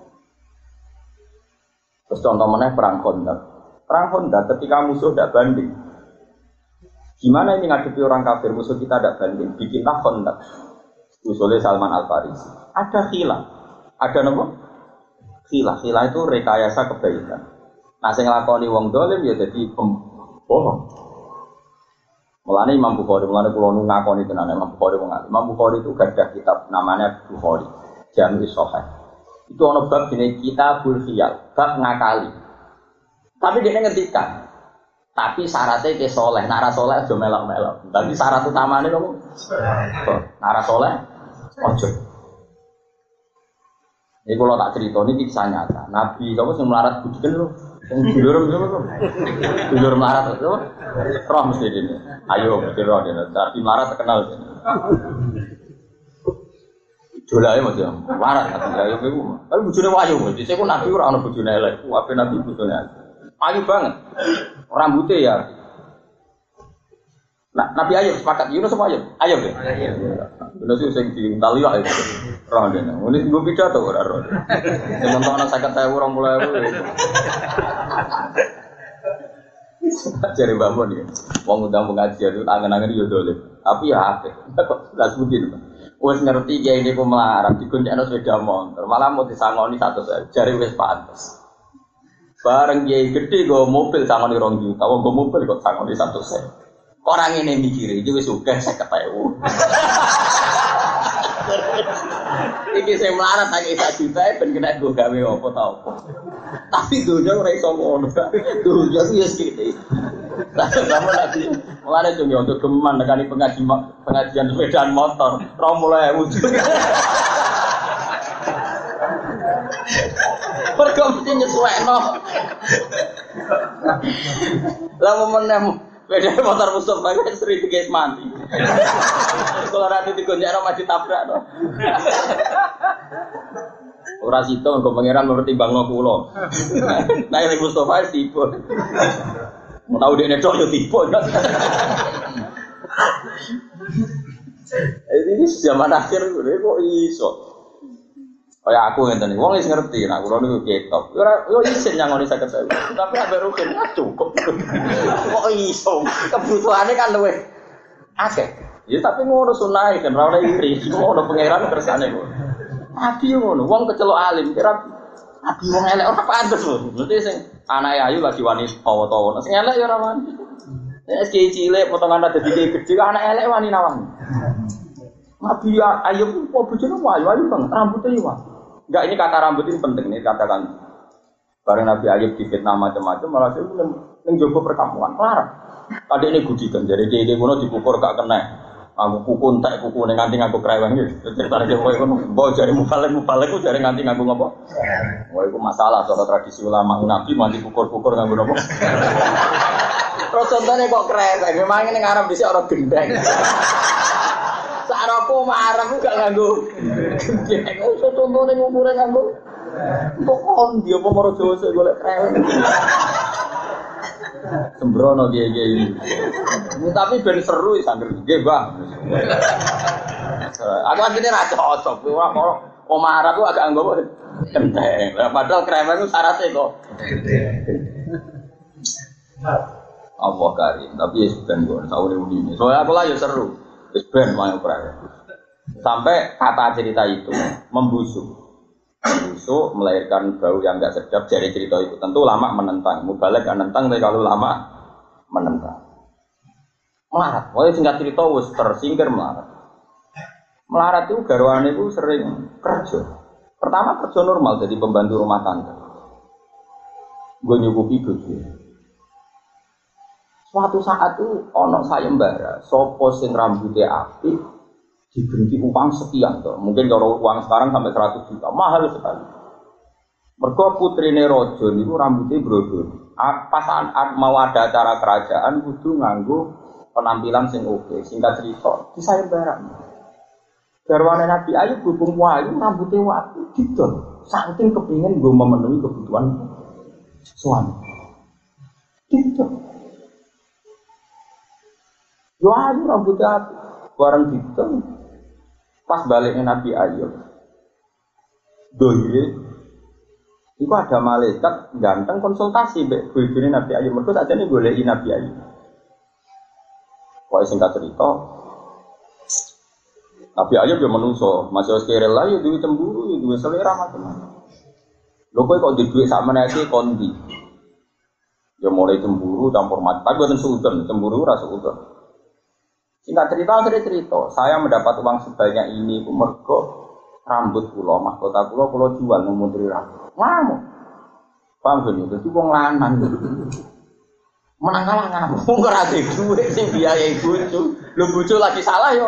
Speaker 1: Terus contoh meneh perang Khandaq. Perang Khandaq ketika musuh tidak banding. Gimana ini ngadepi orang kafir musuh kita tidak banding? Bikinlah Khandaq. usulnya Salman Al Farisi. Ada khilaf, ada nopo? Khilaf, khilaf itu rekayasa kebaikan. Nah, sing nglakoni wong dolim ya jadi pembohong. Mulane Imam Bukhari, mulane kula nu ngakoni tenan Imam Bukhari wong alim. Imam Bukhari itu gadah kitab namanya Bukhari, Jami' Shahih. Itu ana bab jenenge Kitabul Khiyal, bab ngakali. Tapi dia ngendikan, tapi syaratnya ke soleh, nara soleh aja melok-melok. Tapi syarat utamanya kamu, nara soleh, ojo. Ini kalau tak cerita ini kisah nyata. Nabi kamu yang melarat budikan lu, yang dulur siapa lu? Dulur melarat itu, roh mesti ini. Ayo mesti roh ini. Tapi melarat terkenal. Jolai macam melarat tapi ayo beku. Tapi bujune wayu, jadi saya pun nabi orang orang bujune elek. Apa nabi bujune ayu banget. Rambutnya ya. Nah, Nabi Ayub sepakat, Yunus sama Ayub? Ayub ya? Yunus itu yang diintali lah itu. Roh dia. Ini gue pidato ora roh. Yang nonton anak sakit saya orang mulai aku. Cari bangun ya. Wong udah pengajian itu angen-angen dia dolim. Tapi ya apa? Tidak sebutin. Wes ngerti ya ini pemelaran. Dikuncikan sepeda motor. Malah mau disangoni satu saja. Cari wes pantas. Bareng kiai gede go mobil sangoni rong juta. Wong go mobil kok sangoni satu sen. Orang ini mikir iki wis sugih seket ewu. Iki sing melarat tak satu juta ben kena go gawe apa ta apa. Tapi donya ora iso ngono. Donya ku ya sekiti. Kamu lagi mulane cung yo untuk geman nekani pengajian pengajian sepedaan motor dua puluh ewu. Pergo mesti nyesuekno. Lah menem beda motor Mustafa kan sering guys mati. Kalau nanti digonjak maju tabrak no. Ora sito nggo pangeran mempertimbangno kula. Nah ini Mustafa tipe. Mau tahu dia netok yo tipe. Ini zaman akhir kok iso. Kayak aku ngeten iki, wong wis ngerti, nah kula niku ketok. Ora yo isin nyangoni saged saya. Tapi ambek rugen cukup. Kok iso? Kebutuhane kan luwih akeh. Ya tapi ngono sunah kan ora oleh iri. Ngono pangeran kersane kok. Abi ngono, wong kecelok alim, kira abi wong elek ora pantes lho. Berarti sing anake ayu lagi wani tawa-tawa. Sing elek ya ora wani. Nek iki cilik potongan ada dadi gede, anak elek wani nawang. Abi ayu kok bojone ayu ayu banget, rambutnya yo. Enggak, ini kata rambut ini penting nih katakan. Bareng Nabi Ayub difitnah macam-macam, malah saya neng jogo perkampungan, larang. Tadi ini gudikan, jadi dia dia kuno dipukul gak kena. Aku kuku entek kuku neng nganti ngaku kereweng gitu. Cerita dia boy kuno, boy jadi mubalik mubalik ku jadi nganti ngaku ngapa? Boy ku masalah soal tradisi ulama Nabi mandi pukul-pukul ngaku ngapa? Terus contohnya kok kereweng, memang ini ngarep bisa orang gendeng. Sarapo marah ku gak nganggo. Gendeng iso contohne ngumure nganggo. Kok on dia apa maro Jawa sik golek kreweng. Sembrono kiye-kiye ini. Tapi ben seru wis anggere nggih, Bang. Aku asline ra cocok. Ora kok omah Arab ku agak nganggo gendeng. Padahal kreweng ku syaratnya kok. Allah karim, tapi ya ben kok saure udine. Soale aku lah ya seru. Ben mau perang. Sampai kata cerita itu membusuk, membusuk melahirkan bau yang enggak sedap. Dari cerita itu tentu lama menentang, mubalek menentang, tapi kalau lama menentang, melarat. Wah singkat cerita wis tersingkir melarat. Melarat itu garwane itu sering kerja. Pertama kerja normal jadi pembantu rumah tangga. Gue nyukupi bojo. Suatu saat itu ono sayembara, sopo sing rambutnya apik diberi uang sekian tuh. Mungkin kalau uang sekarang sampai seratus juta, mahal sekali. Mergo putrine raja niku rambutnya brodol. Pas mau ada acara kerajaan kudu nganggo penampilan sing oke. Singkat cerita, di sayembara. Garwane Nabi Ayub hubung wayu rambutnya apik didol. Saking kepingin nggo memenuhi kebutuhan suami. Didol. Yo ayu rambutnya bareng gitu. Pas baliknya Nabi Ayub doire itu ada malaikat ganteng konsultasi mbek bojone Nabi Ayub. Mergo sakjane goleki Nabi Ayub. Pokoke singkat cerita Nabi Ayub ya menungso, masih sekere lah ya duwe cemburu, ya duwe selera macam-macam. Lho kowe kok duwe dhuwit sak meneh kondi. Ya mulai cemburu campur mati, tapi bukan suudon, cemburu ora suudon. Singkat cerita, akhirnya cerita, saya mendapat uang sebanyak ini, aku mergo rambut kula, mahkota kula kula jual nang Menteri Rambut. Ngamuk. Paham ben dadi wong lanang. Menang kalah ngamuk. Wong ora duwe dhuwit sing biayai bojo. Lho bojo lagi salah yo.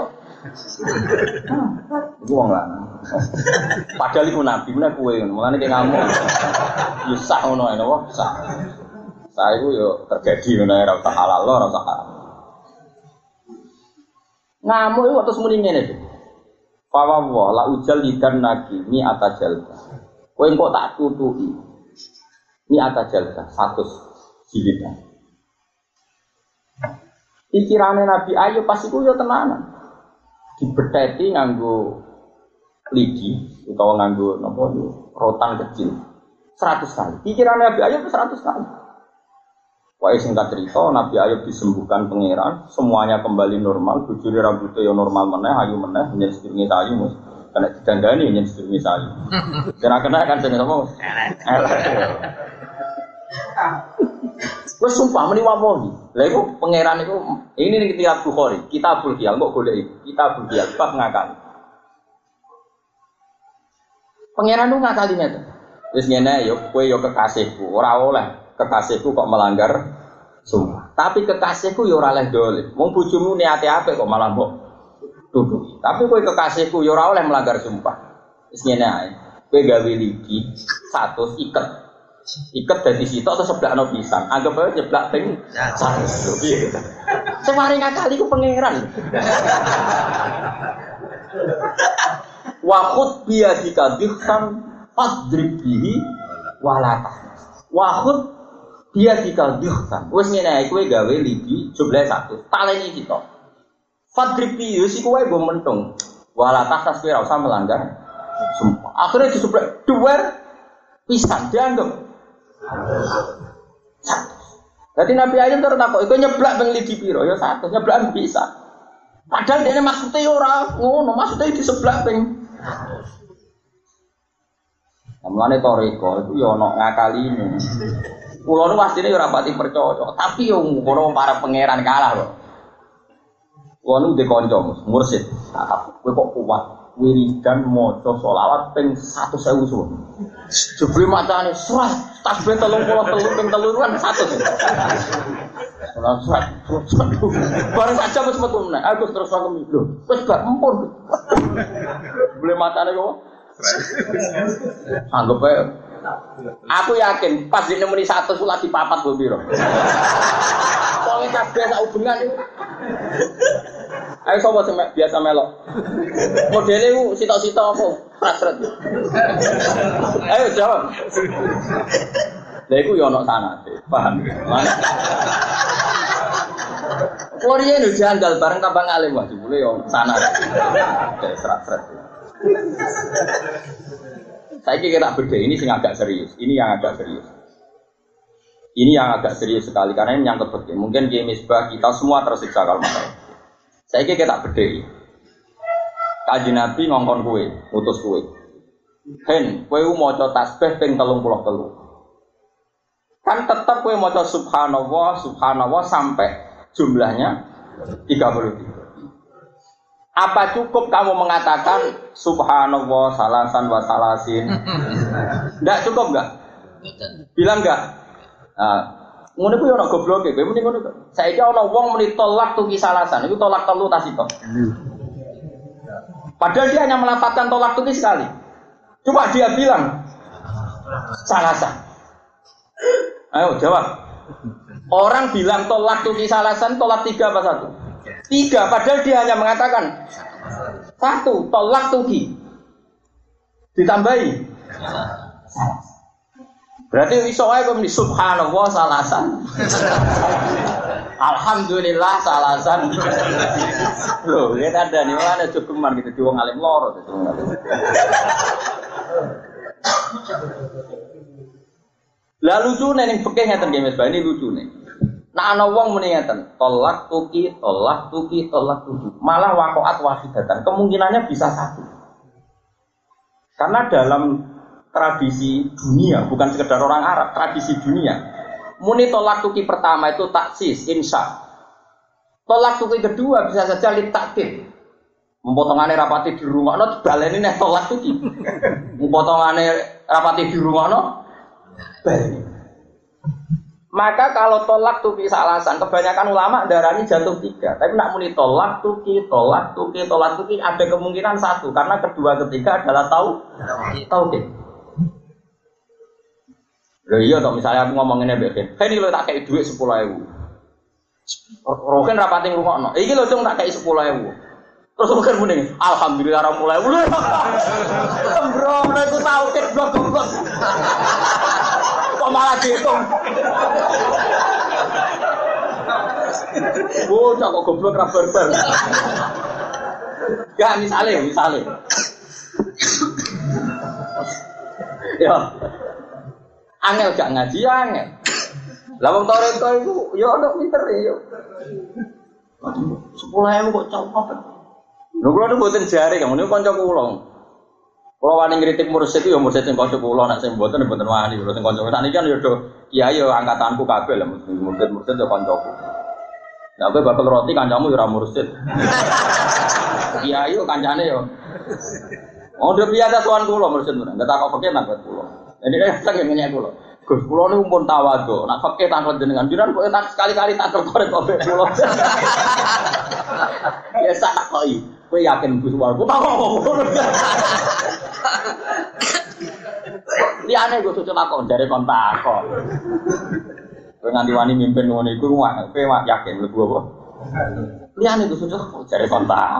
Speaker 1: Iku wong lanang. Padahal iku nabi meneh kowe ngono. Mulane ki ngamuk. Ya sak ngono ae napa? Sak. Saya itu yo terjadi mana ora usah halal lo, ora usah haram. Ngamuk itu terus muni ngene iki. Fa wa la ujal lidan nagi mi atajalka. Kowe engko tak tutuki. Mi atajalka satu jilidan. Pikirane Nabi Ayub pas iku yo tenanan. Dibetheti nganggo lidi utawa nganggo napa rotan kecil. seratus kali. Pikirane Nabi Ayub seratus kali. Wah singkat cerita, Nabi Ayub disembuhkan pangeran, semuanya kembali normal, bujuri rambutnya yang normal meneh, ayu meneh, menjadi sedurunge sayu mus, kena didandani menjadi sedurunge sayu. Kena kena kan jenenge apa? Wes sumpah meni wamohi. Lha iku pangeran iku ini ning kitab Bukhari, Kitabul Qiyal kok golek iki, Kitabul Qiyal bab ngakali. Pangeran lu ngakali ngene. Wis ngene yo, kowe yo kekasihku, ora oleh kekasihku kok melanggar sumpah. Tapi kekasihku ya ora oleh dolim. Wong bojomu niate apik kok malah mbok tuduh. Tapi kowe kekasihku ya ora oleh melanggar sumpah. Wis ngene ae. Kowe gawe ligi satu iket. Iket dadi sitok atau seblakno pisan. Anggap ae jeblak ping satu. Piye gitu. Sing mari ngakali ku pangeran. Wa khud biyadika dhikran fadrib bihi walata. Wa khud dia dikaldihkan, wes ngene ae kowe gawe lidi jumlah satu, taleni kita. Fadripi yo sik kowe go mentung. Wala tas kowe ora usah melanggar sumpah. Akhirnya disuplek duwer pisan dianggap. Dadi Nabi Ayub terus takok, iku nyeblak ping lidi piro? Ya satu, nyeblak bisa. Padahal dene maksude ora ngono, maksude diseblak ping Mulane toriko itu ya ana ngakaline. Kula nu pastine ya ora pati percaya, tapi yo ngono para pangeran kalah kok. Kula nu ndek kanca mursid, kowe kok kuat wiridan maca selawat ping seratus ribu suwun. Jebule macane surat tasbih telung puluh telu ping telu kan seratus. Ora surat. Bareng saja wis metu meneh. Aku terus aku lho, wis gak empun. Jebule macane kok anggap aja. Aku yakin pas dia nemeni satu sulat di papat gue biro. Soalnya kabeh sak hubungan itu. Ayo sobo biasa melok. Modelnya itu sitok-sitok apa? Pasret. Ayo jawab. Lah iku yo ana sanate. Paham? Korea itu janggal bareng tambang alim wah jebule yo sanate. Kayak serat-serat. Saya kira beda ini sing agak serius. Ini yang agak serius. Ini yang agak serius sekali karena ini menyangkut beda. Mungkin di misbah kita semua tersiksa kalau masalah. Saya kira beda. Kaji Nabi ngongkon kue, utus kue. Hen, kue maca tasbih ping telung puluh telu. Kan tetap kue maca subhanallah, subhanallah sampai jumlahnya tiga puluh tiga. Apa cukup kamu mengatakan subhanallah salasan wa salasin? Enggak cukup enggak? Bilang enggak? Nah, ngono kuwi ana gobloke, kowe muni ngono kok. Saiki ana wong muni tolak tuki salasan, iku tolak telu tas itu. Padahal dia hanya melafalkan tolak tuki sekali. Coba dia bilang salasan. Ayo jawab. Orang bilang tolak tuki salasan, tolak tiga apa satu? Tiga, padahal dia hanya mengatakan satu, tolak tuki ditambahi berarti iso ae kok subhanallah salasan alhamdulillah salasan loh, ini ada nih, ada cukuman gitu, di wong alim loro gitu. Lah lucu nih, yang fikih ngeten nggih Mas Bani lucu nih. Nah ana wong muni ngeten, tolak tuki, tolak tuki, tolak tuki. Malah waqa'at wahidatan, kemungkinannya bisa satu. Karena dalam tradisi dunia, bukan sekedar orang Arab, tradisi dunia. Muni tolak tuki pertama itu taksis, insya. Tolak tuki kedua bisa saja lit takdir. Mempotongannya rapati di rumah, no baleni nih tolak tuki. Mempotongannya rapati di rumah, no baleni. Maka kalau tolak tuki alasan, kebanyakan ulama darahnya jatuh tiga. Tapi nak muni tolak tuki, tolak tuki, tolak tuki ada kemungkinan satu, karena kedua ketiga adalah tahu, tauhid. Loh iya toh, misalnya aku ngomonginnya begini, ini lo tak kayak duit sepuluh ribu. Roken rapating rumah no, ini lo dong tak kayak sepuluh ribu. Terus roken mending, alhamdulillah orang mulai bulu. Bro, mereka tahu kan blok blok. Kok malah dihitung? Oh, kok goblok ra barbar. Ya misalnya, misalnya. Ya. Angel gak ngaji ya angel. Lah wong toreko iku ya ono pinter ya. sepuluh ribu kok copot. Lho kula nu mboten jare kang niku kanca kula. Kula wani ngritik mursyid itu ya mursyid sing kanca kula nek sing mboten mboten wani kula sing kanca sakniki kan ya do kiai ya angkatanku kabeh lah mursyid-mursyid ya kancaku. Lah kowe bakal roti kancamu ya ora mursyid. Kiai yo kancane yo. Oh, dia biasa tuan kula mursyid menan. Enggak takok fakir nang kula. Jadi kan tak ngenyek kula. Gus kula niku pun tawadhu. Nek fakir takon jenengan jenengan kok tak sekali-kali tak korek kok kula. Ya sak takoki. Kowe yakin Gus warku takok. Liyane Gus cocok takon jare kon takon. Kowe nganti wani mimpin ngono iku kowe yakin mlebu apa? Liyane Gus cocok jare kon takon.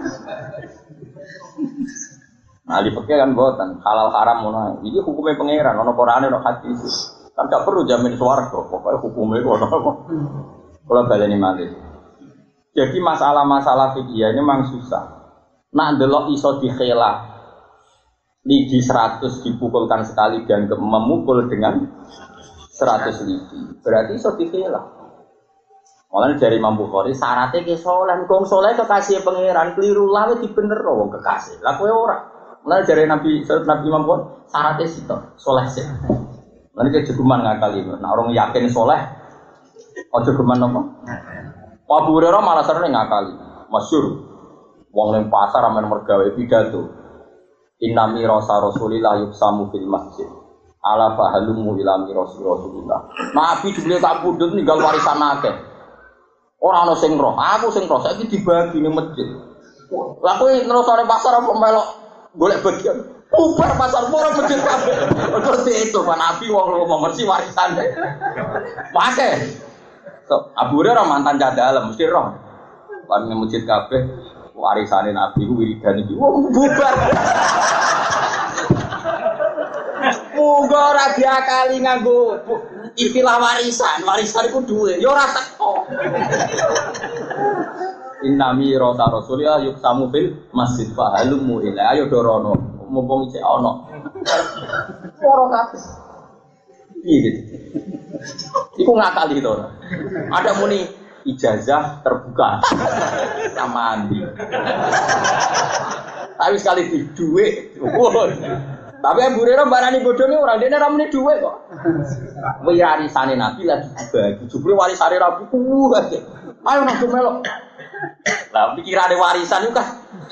Speaker 1: Nah di fikih kan boten halal haram ngono. Iki hukumnya pangeran, ono Qur'ane ono hadis. Kan gak perlu jamin swarga, pokoke hukumnya ono apa. Kalau baleni malih. Jadi masalah-masalah fikih ini memang susah. Nak ndelok iso dikhelah. Lidi seratus dipukulkan sekali dan memukul dengan seratus lidi. Berarti iso dikhelah. Mulane dari Imam Bukhari syaratnya ke soleh, wong soleh kekasih pangeran, keliru lawe dibenerno wong kekasih. Lah kowe ora. Mulane dari Nabi Nabi Imam Bukhari syaratnya sitok, soleh sih. Mulane kejeguman ngakali. Nek orang yakin soleh, aja geman apa? Abu Hurairah malah sering ngakali. Masyhur. Wong ning pasar amen mergawe pidato. Inna mirasa Rasulillah yuksamu fil masjid. Ala fahalumu ila mirasi Rasulillah. Nabi dibeli tak pundhut ninggal warisan akeh. Ora ana sing roh, aku sing roh saiki dibagi ning masjid. Lah kowe nerusane pasar apa melok golek bagian. Bubar pasar murah masjid kabeh. Terus itu Pak Nabi wong ngomong mesti warisan. Pakai. So, Abu Hurairah mantan cadalem mesti roh. Pan ning masjid kabeh warisane Nabi ku wiridan iki. Wong bubar. Muga ora diakali nganggo istilah warisan. Warisan iku duwe, ya ora teko. Innami rota Rasulillah yuksamu fil masjid fa halumu ila ayo dorono mumpung isih ana. Ora kabeh. Piye gitu. Iku ngakali to. Ada muni ijazah terbuka. Mandi. Tapi sekali di dhuwit. Tapi Abu Hurairah barani bodone ora dene ora muni dhuwit kok. Warisane Nabi lagi dibagi. Jupre warisane Nabi ku akeh. Ayo nang melok. Lah pikirane warisan iku kan.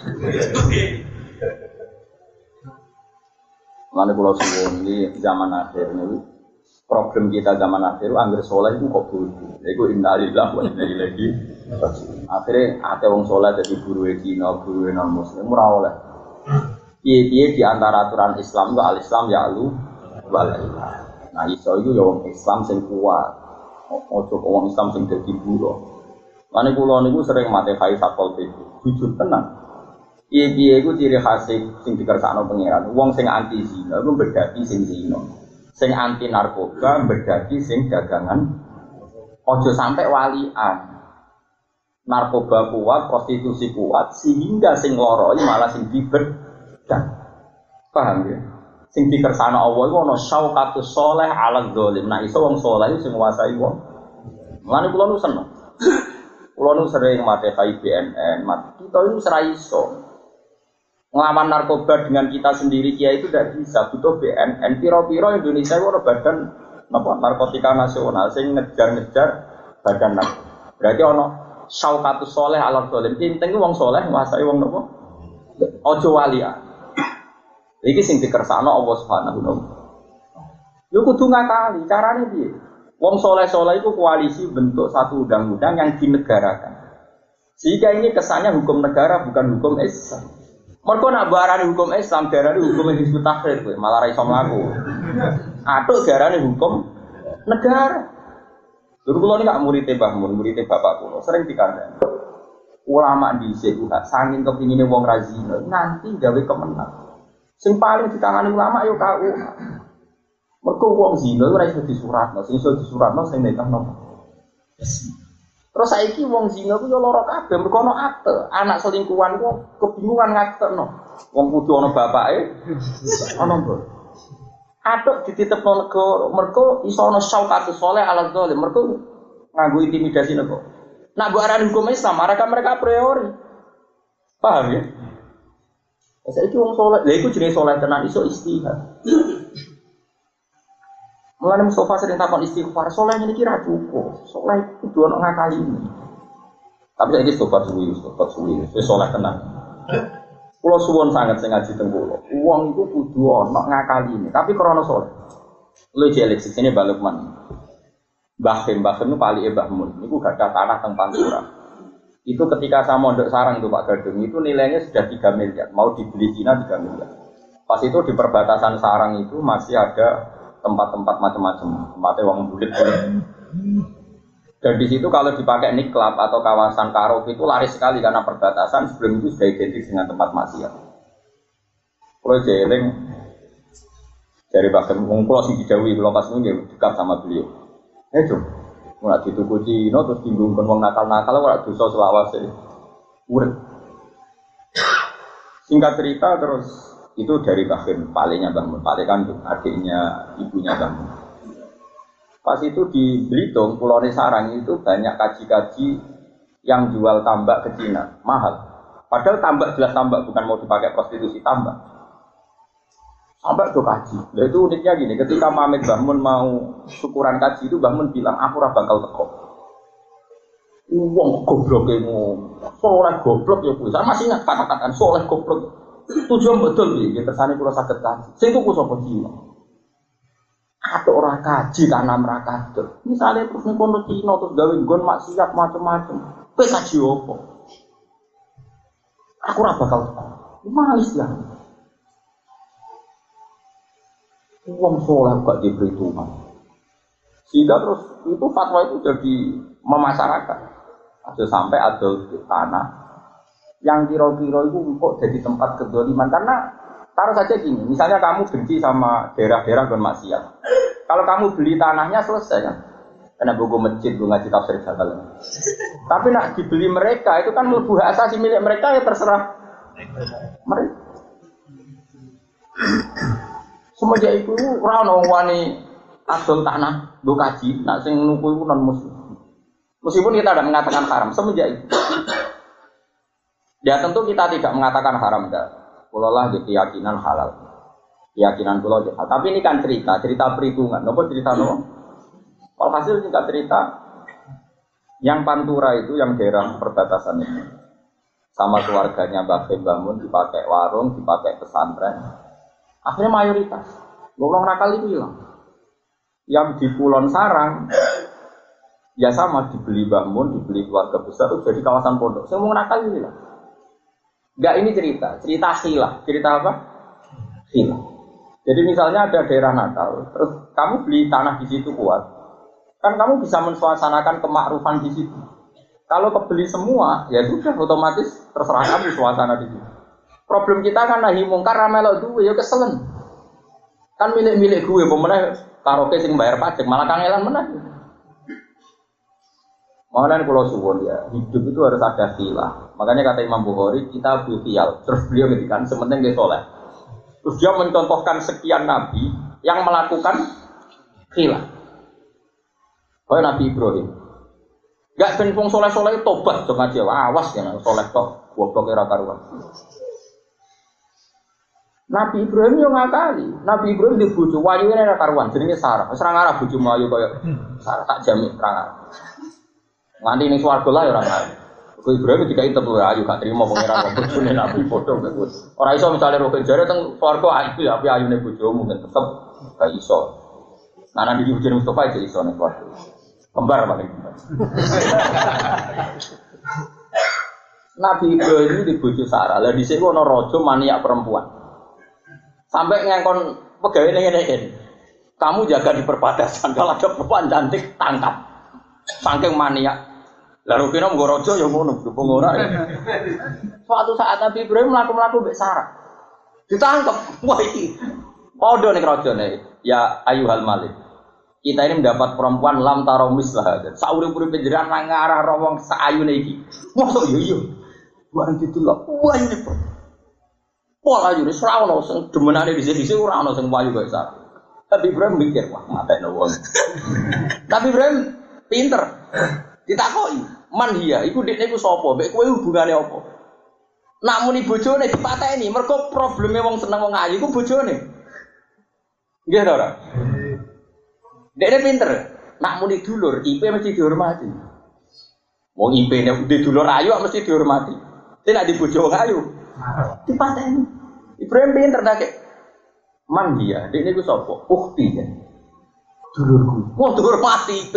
Speaker 1: Mane kula suwun iki zaman akhir niku problem kita zaman akhir angger saleh iku kok bodoh. Iku innalillahi wa inna ilaihi raji'un. Akhire ate wong saleh dadi guruwe Cina, guruwe non muslim ora oleh. Piye-piye di antara aturan Islam kok al-Islam ya lu walailah. Nah iso iku ya wong Islam sing kuat. Ojo wong Islam sing dadi buruh. Mane kula niku sering mate kai sakol itu. Jujur tenan. Piye-piye iku ciri khas sing dikersakno pangeran. Wong sing anti zina iku bedaki sing zina. Sing anti narkoba bedaki sing dagangan. Ojo sampai walian. Narkoba kuat, prostitusi kuat sehingga sing loro malah sing dibed. Paham ya? Sing dikersana Allah iku ana syauqatus sholeh ala dzalim. Nah iso wong saleh sing nguasai wong Mulane kula nu seneng. Kula nu sering mate K I B N N, mat kita itu serai iso. Ngelawan narkoba dengan kita sendiri kiai itu tidak bisa, butuh B N N. Piro-piro Indonesia itu ada badan apa, narkotika nasional sing ngejar-ngejar badan narkoba. Berarti ono syaukatus soleh alam dolim. Penting wong soleh nguasai wong nopo. Ojo walia. Iki sing dikersakno Allah Subhanahu wa taala. Yo kudu ngakali, carane piye? Wong soleh-soleh itu koalisi bentuk satu undang-undang yang dinegarakan. Sehingga ini kesannya hukum negara bukan hukum Islam. Mergo nak barani hukum Islam, darani hukum Hizbut Tahrir kowe, malah ra iso mlaku. Atuk darani hukum negara. Dulu kula niku murid Mbah Mun, murid bapak kula, sering dikandani. Ulama dhisik udah saking kepingine wong ra zina, nanti gawe kemenang. Sing paling ditangani ulama yo K U. Mergo wong zina ora iso disuratno, sing iso disuratno sing nekahno. Terus saiki wong zina ku yo lara kabeh, mergo ana akte, anak selingkuhan ku kebingungan ngaktekno. Wong kudu ana bapake, ana mbok. Atuk dititipno negara, mergo iso ana syaukatus saleh ala zalim, mergo nganggo intimidasi negara. Nak mbok arani hukum Islam, mereka mereka a priori. Paham ya? Saiki wong saleh, lha iku jenenge saleh tenan iso istihad. Mulane Mustafa sering takon istighfar, soleh ini kira cukup, soleh itu dua orang ngakali ini. Tapi saya ini sobat suwi, sobat suwi, saya soleh tenang. Pulau suwon sangat saya ngaji tenggulo, uang itu kudu orang ngakali ini, tapi krono soleh. Lu jelek sini balik mana? Bahim, bahim itu pali ebahmun, itu gak ada tanah teng Pantura. Itu ketika saya mondok sarang itu Pak Gadung, itu nilainya sudah tiga miliar, mau dibeli Cina tiga miliar. Pas itu di perbatasan sarang itu masih ada tempat-tempat macam-macam, tempatnya uang bulit-bulit. Dan di situ kalau dipakai niklab atau kawasan karaoke itu laris sekali karena perbatasan sebelum itu sudah identik dengan tempat maksiat. Kalau jeling dari bahkan ngungkulo sing dijauhi kalau pas nunggu dekat sama beliau. Eh dong, mulai dituku Cina terus bingung wong nakal-nakal ora dosa selawase. Urip. Singkat cerita terus itu dari Bahkan, palingnya Bang Mun, paling kan adiknya ibunya Bang Mun. Pas itu di Belitung, Pulau Sarang itu banyak kaji-kaji yang jual tambak ke Cina, mahal. Padahal tambak jelas tambak, bukan mau dipakai prostitusi, tambak. Tambak itu kaji. Nah, itu uniknya gini, ketika Mamet Bang Mun mau syukuran kaji itu Bang Mun bilang, aku ora bakal teko. Wong goblok emu, soleh goblok ya Bu. Saya masih ingat kata-kataan soleh goblok. Tujuan betul nih, kita sana kalau sakit kaji. Saya itu kusok Cina. Ada orang kaji tanam raka tuh. Misalnya terus nih kono Cina terus gawe gon maksiat macam-macam. Kue kaji apa? Aku raba bakal malis ya. Uang soleh gak diberi Tuhan. Sehingga terus itu fatwa itu jadi memasyarakat. Ada sampai ada tanah yang kira-kira itu kok jadi tempat kedoliman. Karena taruh saja gini, misalnya kamu benci sama daerah-daerah bermaksiat. Kalau kamu beli tanahnya selesai kan, karena buku masjid, gue ngaji tafsir Jalal. Tapi nak dibeli mereka itu kan mlebu hak asasi milik mereka ya terserah mereka. Semenjak itu ora ono wani adol tanah nggo kaji, nak sing nuku iku non muslim. Meskipun kita tidak mengatakan haram semenjak itu. Ya tentu kita tidak mengatakan haram dah. Kulolah di keyakinan halal, keyakinan kulo. Tapi ini kan cerita, cerita perhitungan. Nopo cerita nopo. Kalau hasil singkat cerita, yang Pantura itu, yang daerah perbatasan itu, sama keluarganya Mbah Bangun dipakai warung, dipakai pesantren. Akhirnya mayoritas, golong nakal itu hilang. Yang di Kulon Sarang, ya sama dibeli bangun, dibeli keluarga besar, itu jadi kawasan pondok. Semua nakal itu hilang. Enggak, ini cerita, cerita khilah. Cerita apa? Khilah. Jadi misalnya ada daerah Natal, terus kamu beli tanah di situ kuat, kan kamu bisa mensuasanakan kemakrufan di situ. Kalau kebeli semua, ya sudah otomatis terserah kamu suasana di situ. Problem kita kan nahi mungkar ramelok duwe, ya keselen. Kan milik-milik gue, pemenang karaoke sing bayar pajak, malah kangelan meneh. Makanya kalau suwon ya, hidup itu harus ada khilah. Makanya kata Imam Bukhari, kita buktial. Terus beliau ngedikan, sementing dia soleh. Terus dia mencontohkan sekian nabi yang melakukan khilah. Kayak Nabi Ibrahim. Gak ben wong soleh-soleh tobat do ngaji awas ya soleh tok goblok ora karuan. Nabi Ibrahim yo ngakali. Nabi Ibrahim di bojo wayune ora karuan jenenge Sarah. Wis ora ngarah bojo mlayu kaya Sarah tak jamin ora ngarah. Nganti ning swarga lah ora ngarah. Kok Ibrahim dikai tebu ayu gak trimo pangeran kok bojone Nabi padha kok. Ora iso misale roke jare teng swarga ayu ya ayune bojomu mungkin tetep gak iso. Nah Nabi bojone Mustafa iki iso ning swarga. Kembar paling kembar. Nabi Ibrahim di bojo Sarah. Lah dhisik ana raja maniak perempuan. Sampai ngangkon pegawai ngene-ngene. Kamu jaga di perbatasan kalau ada perempuan cantik tangkap. Saking maniak. Lah rupine mung raja ya ngono, dukung ora. Suatu saat Nabi Ibrahim mlaku-mlaku mbek Sarah. Ditangkap. Wah iki. Padha ning rajane. Ya ayuhal malik. Kita ini mendapat perempuan lam taromis lah. Sauri-uri penjeran ngarah rawang saayune iki. Mosok yo yo. Bukan ditulak. Wah ini kok. Pola ayu wis ora ono sing demenane dhisik-dhisik ora ono sing wayu kaya sak. Tapi Ibrahim mikir, wah matekno wong. Tapi Ibrahim pinter. Ditakoki, "Man hiya, iku dekne iku sapa? Mbek kowe hubungane apa?" Nak muni bojone dipateni, mergo probleme wong seneng wong ayu iku bojone. Nggih ta ora? Dekne pinter. Nak muni dulur, I P mesti dihormati. Wong I P nek di dulur ayu mesti dihormati. Tapi nek di bojo wong ayu dipateni. Ibrahim pinter dak. Man dia, dekne iku sapa? Ukti ya. Dulurku. Wong dihormati I P.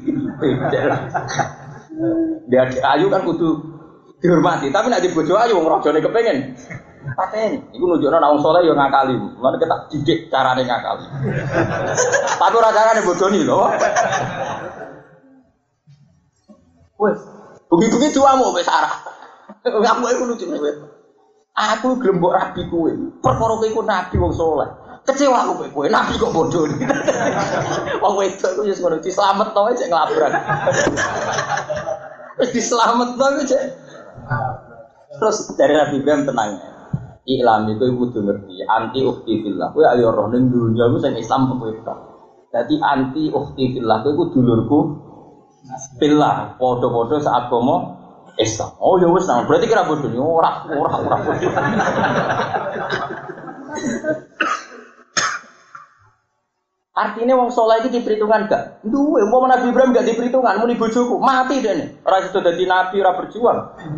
Speaker 1: Dia ayu kan kudu dihormati, tapi nek di bojo ayu wong rajane kepengin pateni. Iku nunjukno nek wong saleh yo ngakali. Mulane kita didik carane ngakali. Tapi ora carane bodoni lho. Wes, bengi-bengi duamu wis Sarah. Ngamu iku lucu kowe. Aku gelem mbok rabi kowe. Perkara kowe iku nabi wong saleh. Kecewa aku kowe, nabi kok bodoh. Wong wedok iku wis ngono dislametno wae cek nglabrak. Wis dislametno wae cek. Terus dari Nabi Ibrahim tenang. Iklam itu ibu tuh ngerti anti ukti fillah. Kowe ayo roh ning dunya iku sing Islam kowe tok. Dadi anti ukti fillah kowe iku dulurku fillah, padha-padha seagama Islam. Oh ya wis nang berarti kira bodoh ora ora ora bodoh. Artinya wong saleh iki diperhitungan gak? Duwe umpama Nabi Ibrahim gak diperhitungan muni bojoku mati dene. Ora iso dadi nabi ora berjuang.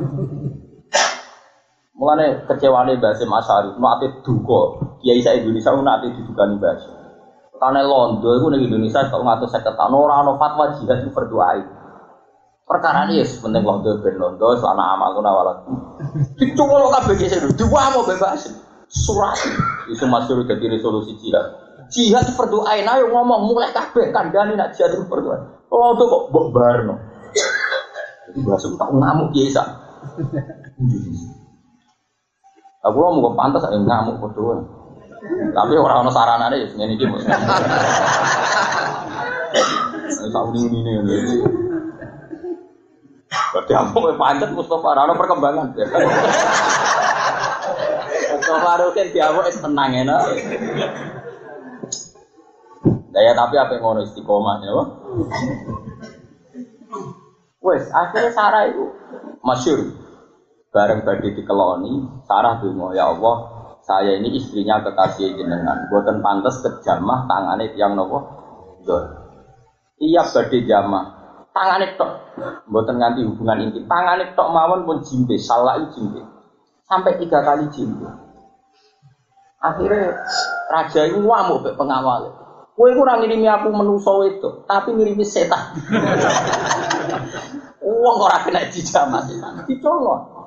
Speaker 1: Mulane kecewane Mbah Hasyim Asy'ari, nate duka. Kiai sak Indonesia nate didukani Mbah Hasyim. Karena Londo iku ning Indonesia kok ngatus seket tahun ora ana fatwa jihad itu berdoa. Perkara ini yes, penting Londo ben Londo selana amal kuna walat. Dicuwol kabeh sing dua mau bebas. Surat iso masyhur dadi resolusi jihad. Jihad berdoa ayo ngomong mulai kabeh kandhane nak jihad berdoa. Londo kok mbok barno. Jadi bahasa tak ngamuk kiai sak. Aku lo mau pantas aja ngamuk berdua, tapi orang orang sarana deh, ngene iki. Tahu ini ini ini. Berarti aku pantas Mustafa, ada perkembangan. Mustafa Rukin diamu es tenang ya, no. Daya tapi apa yang ngono istiqomah ya, wes akhirnya Sarah itu masyhur. Bareng badhe dikeloni, Sarah donga, ya Allah, saya ini istrinya kekasih jenengan. Mboten pantes kejamah tangane tiyang napa? Ndor. Iya badhe jamah. Tangane tok. Mboten nganti hubungan intim. Tangane tok mawon pun jimbe, salah jimbe. Sampai tiga kali jimbe. Akhirnya raja itu ngamuk mek pengawal. Kowe iku ora ngirimi aku menusa wedok, tapi ngirimi setan. Wong ora kena dijamah setan. Dicolong.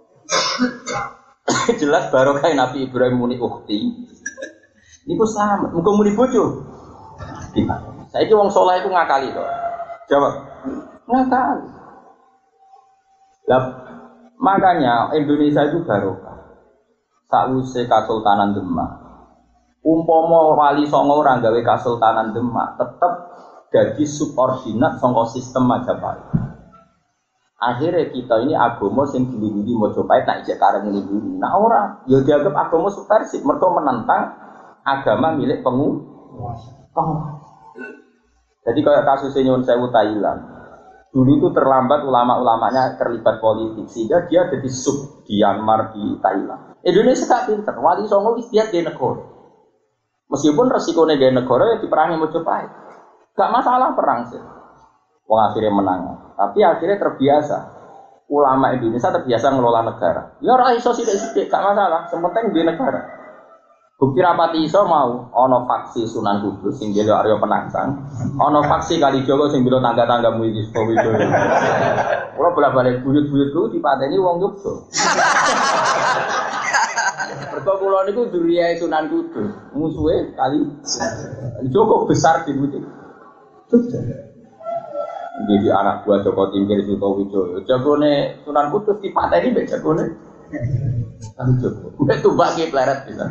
Speaker 1: Jelas barokah Nabi Ibrahim muni ukti. Niku selamat, muga muni bojo. Saiki wong saleh iku ngakali to. Jawab. Ngakali. Lah makanya Indonesia itu barokah. Sakwise Kesultanan Demak. Umpama wali songo ora gawe Kesultanan Demak, tetep dadi subordinat saka sistem Majapahit. Akhirnya kita ini agama sing dilindungi Mojopahit tak ijek kareng nglindungi. Nah ora, ya dianggap agama subversif mergo menentang agama milik penguasa. Jadi kayak kasus Nyun Sewu Thailand. Dulu itu terlambat ulama-ulamanya terlibat politik sehingga dia jadi sub di Myanmar, di Thailand. Indonesia tak pinter, Wali Songo wis dia di negara. Meskipun resikonya di negara ya diperangi Mojopahit. Gak masalah perang sih. Wong akhirnya menang. Tapi akhirnya terbiasa. Ulama Indonesia terbiasa ngelola negara. Ya ora iso sithik-sithik gak masalah, sementing di negara. Bukti rapati iso mau ana faksi Sunan Kudus sing jelo Arya Penangsang, ana faksi Kalijogo sing bela tangga-tanggamu iki Sukowijoyo. Ora bolak-balik buyut-buyutku dipateni wong Yogya. Mergo kula niku duriyae Sunan Kudus, musuhe kali Joko besar di Budi. Jadi anak buah Joko Tingkir Sukowijoyo. Jagone Sunan Kudus dipateni mbek jagone Kali Joko. Mbek tumbak ki pleret bisa.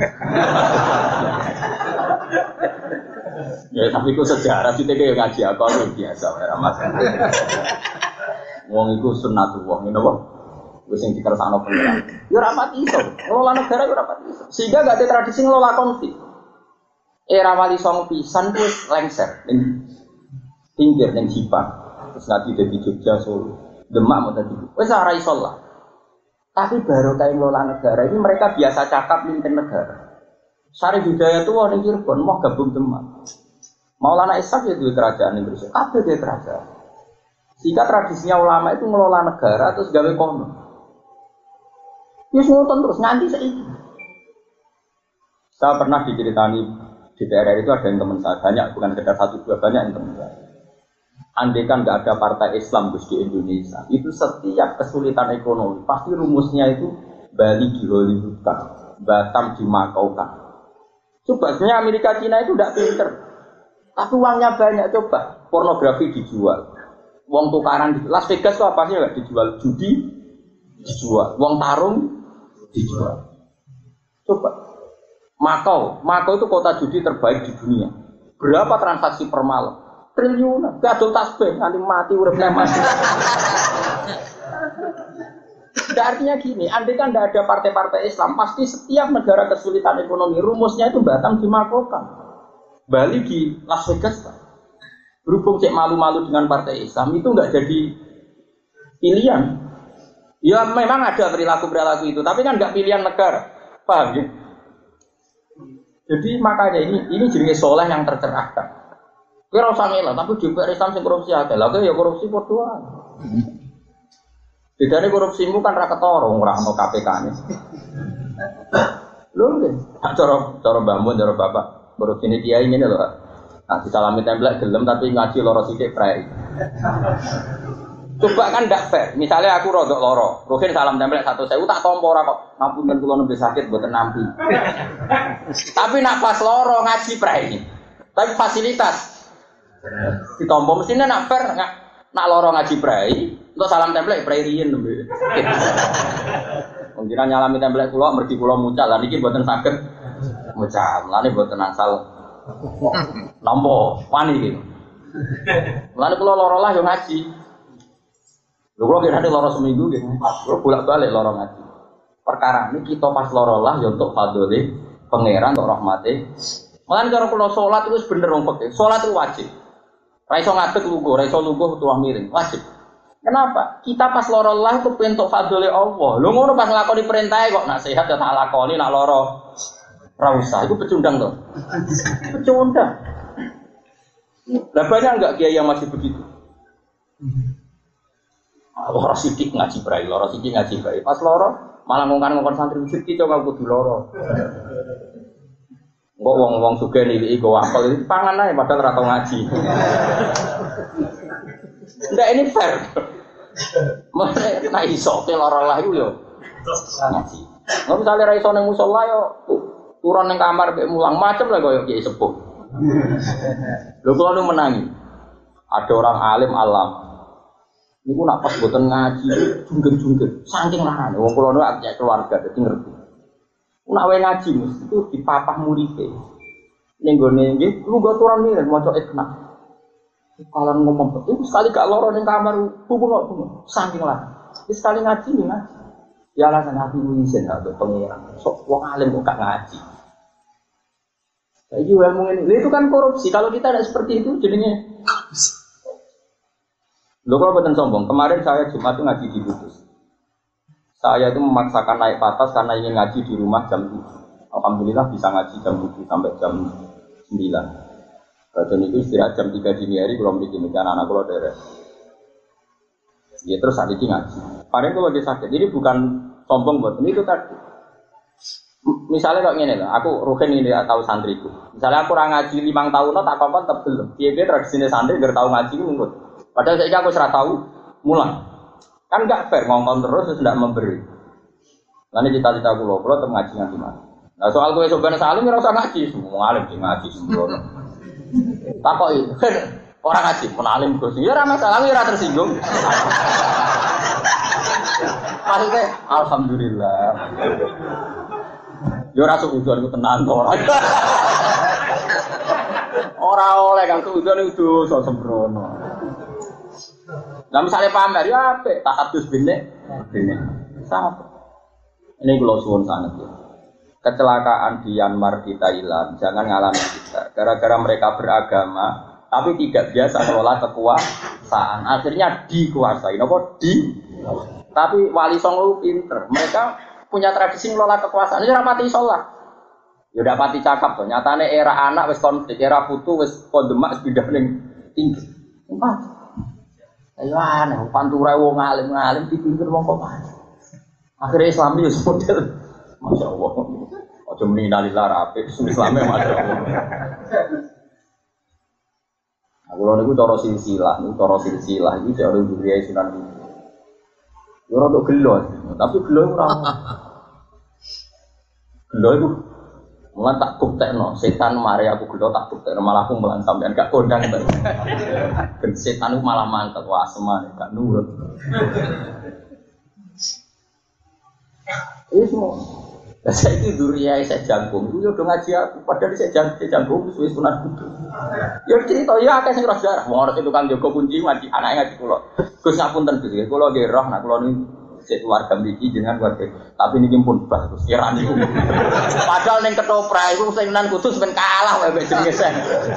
Speaker 1: Ya tapi ku sejarah sithik ya ngaji apa biasa ora masalah. Wong iku sunnatullah ngene apa? Wis sing dikersakno pengiran. Ya ora pati iso. Ngelola negara ya ora pati iso. Sehingga gak ada tradisi ngelola konflik. Era Wali Songo pisan ku wis lengser ning pinggir ning Jipang. Terus nanti dadi Jogja Solo. Demak mau tadi. Wis ora iso lah. Tapi baru kayak ngelola negara ini mereka biasa cakap mimpin negara. Syarif Hidayat itu orang Cirebon mau gabung Demak. Maulana Ishaq ya duwe kerajaan Indonesia. Kabeh duwe kerajaan. Sehingga tradisinya ulama itu ngelola negara terus gawe kono. Wis ngoten terus nganti saiki. Saya pernah diceritani di D P R itu ada yang teman saya banyak, bukan sekedar satu dua, banyak yang teman saya. Andai kan nggak ada partai Islam di Indonesia, itu setiap kesulitan ekonomi pasti rumusnya itu Bali di Hollywoodkan, Batam dimakaukan. Coba sebenarnya Amerika Cina itu tidak pinter, tapi uangnya banyak. Coba pornografi dijual, uang tukaran di Las Vegas itu apa sih nggak dijual, judi dijual, uang tarung dijual. Coba Makau, Makau itu kota judi terbaik di dunia. Berapa transaksi per malam? Triliunan, gadol tasbih, nanti mati uripnya mati. Nah, artinya gini, andai kan tidak ada partai-partai Islam, pasti setiap negara kesulitan ekonomi, rumusnya itu Batam dimakaukan, Bali di Las Vegas. Berhubung cek malu-malu dengan partai Islam, itu nggak jadi pilihan. Ya memang ada perilaku-perilaku itu, tapi kan nggak pilihan negara, paham ya? Jadi makanya ini ini jenis soleh yang tercerahkan. Kira usah ngelak, tapi di P R Islam sing korupsi akeh. Lah ya korupsi padha wae. Bedane korupsimu kan ra ketara ora ono K P K-ne. Lho nggih, cara cara Mbah Mun cara Bapak korupsi ini kiai ngene lho. Nah, disalami templek gelem tapi ngaji loro sithik prei. Coba kan ndak fair. Misalnya aku rodok loro, Ruhin salam templek satu sewu tak tampa ora kok. Ngapunten kula nembe sakit mboten nampi. Tapi nak pas loro ngaji prei. Tapi fasilitas ditompo mestinya nak fair nggak nak loro ngaji prai untuk salam template prai riyen nembe. Mungkin nyalami template kula mergi kula mucal lan iki mboten saged mucal. Lane mboten asal nampa wani iki. Lane kula loro lah yo ngaji. Lho kula kira loro seminggu nggih. Kula bolak-balik loro ngaji. Perkara ini kita pas loro lah yo untuk fadhole pangeran untuk rahmate. Mulane cara kula salat itu bener wong peke. Salat itu wajib. Ra iso ngadeg lungguh, ra iso lungguh tuah miring, wajib. Kenapa? Kita pas loro Allah itu pentuk fadhole Allah. Lho ngono pas nglakoni perintahe kok nak sehat ya tak lakoni, nak loro ra usah. Iku pecundang to. Pecundang. Lah banyak enggak kiai yang masih begitu? Loro sithik ngaji brai, loro sithik ngaji brai. Pas loro malah ngongkon-ngongkon santri sithik kok kudu loro. Kok wong-wong sugih niliki go apel iki pangan ae padahal ora tau ngaji. Ndak ini fair. Mane nek iso ke lara lah iku yo ngaji. Nek misale ra iso ning musala yo turun ning kamar mek mulang macem lah koyo kiai sepuh. Lho kula nu menangi. Ada orang alim alam. Niku nak pas boten ngaji junggen-junggen saking larane wong kula nu akeh keluarga dadi ngerti. Nak wae ngaji mesti itu dipapah muridé. Ning gone nggih, lu go turun nih maca ikna. Kalau ngomong itu sekali gak loro ning kamar bubung kok bubung. Saking lah. Wis sekali ngaji nih ngaji. Ya alasan hati izin gak untuk pengiran. Sok wong alim kok gak ngaji. Saiki ilmu ini itu kan korupsi. Kalau kita tidak seperti itu jadinya Lho kalau bukan sombong, kemarin saya Jumat itu ngaji di Kudus. Saya itu memaksakan naik patas karena ingin ngaji di rumah jam tujuh. Alhamdulillah bisa ngaji jam tujuh sampai jam sembilan. Dan itu istirahat jam tiga dini hari belum bikin anak-anak kalau daerah. Ya terus saat ini ngaji. Paling itu lagi sakit. Jadi bukan sombong buat ini itu tadi. Misalnya kalau gini lah, aku rugen ini tahu santriku. Misalnya aku orang ngaji lima tahun, tak apa-apa tetap belum. Dia dia tradisinya santri nggak tahu ngaji nunggut. Padahal saya aku serah tahu mulang. Kan nggak fair ngomong terus tidak memberi. Nanti cita-cita aku loh, kalau tetap ngaji ngaji mana. Nah soal gue sebenarnya salim nggak usah ngaji, semua alim sih ngaji semua. Takoi orang ngaji pun alim gue sih, ya ramai salam ya tersinggung. Maksudnya, alhamdulillah. Yo rasa ujian itu tenang orang. Orang oleh kan ujian itu so sembrono. Nah misalnya pamer ya apa? Tak hadus bine, bine. Sama. Ini kalau suwon sangat ya. Kecelakaan di Myanmar di Thailand jangan ngalami kita. Gara-gara mereka beragama, tapi tidak biasa mengelola kekuasaan. Akhirnya dikuasai. Nopo di. Tapi Wali Songo pinter. Mereka punya tradisi ngelola kekuasaan. Ini rapati sholat. Ya udah pati cakap tuh. Nyatane era anak wis konflik, era putu wis kondemak wis pindah ning tinggi. Empat. Ayo aneh, pantura wong alim-alim dipimpin wong kok. Akhirnya Islam itu model. Masya Allah. Ojo meninggalillah rapi. Islamnya Masya Allah. Aku lalu itu cara silsilah, itu cara silsilah itu jauh lebih dari Sunan Kudus. Orang untuk gelo, tapi gelo itu ramah. Gelo itu mulai tak buktekno, setan mari aku gelo tak buktekno malah aku melan sampean gak kondang. Ben setan itu malah mantap, wah semuanya gak nurut. Ini semua. Saya itu duriai saya jangkung, itu udah ngaji aku. Padahal saya jangkung, saya jangkung itu sudah Sunan Kudus. Ya cerita ya akeh sing roh sejarah. Wong ora itu kan jaga kunci ngaji anake ngaji kula. Gus ngapunten Gus, kula nggih roh nek kula niku sik keluarga mriki jenengan keluarga. Tapi niki pun bah Gus kira niku. Padahal ning ketoprak iku sing Sunan Kudus ben kalah wae mek jenenge sen.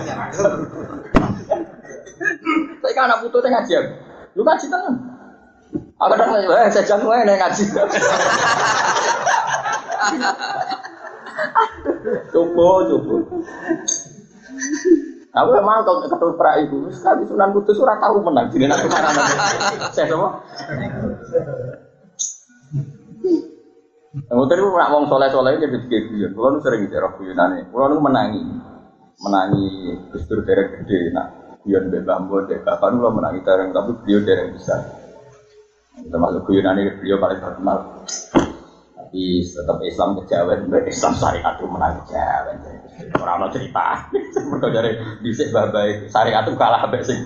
Speaker 1: Saya kan anak putu teh ngaji aku. Lu ngaji tenan. Aku dak eh saya jangkung ae nek ngaji. Coba, coba. Aku memang kalau ketoprak itu, sekali Sunan Kudus ora tahu menang. Jadi nak kemana nanti? Saya semua. Kamu tadi nak ngomong soleh-soleh jadi begitu. Kalau nu sering cerok buyunane, kalau nu menangi, menangi gestur derek gede. Nah, buyun bebambo dek. Kapan lu menangi dereng tapi beliau dereng besar. Termasuk buyunane beliau paling terkenal. Tapi tetap Islam kejawen, Islam syariat itu menang kejawen. Orang mau cerita, mereka dari bisik babai syariat itu kalah sampai sing.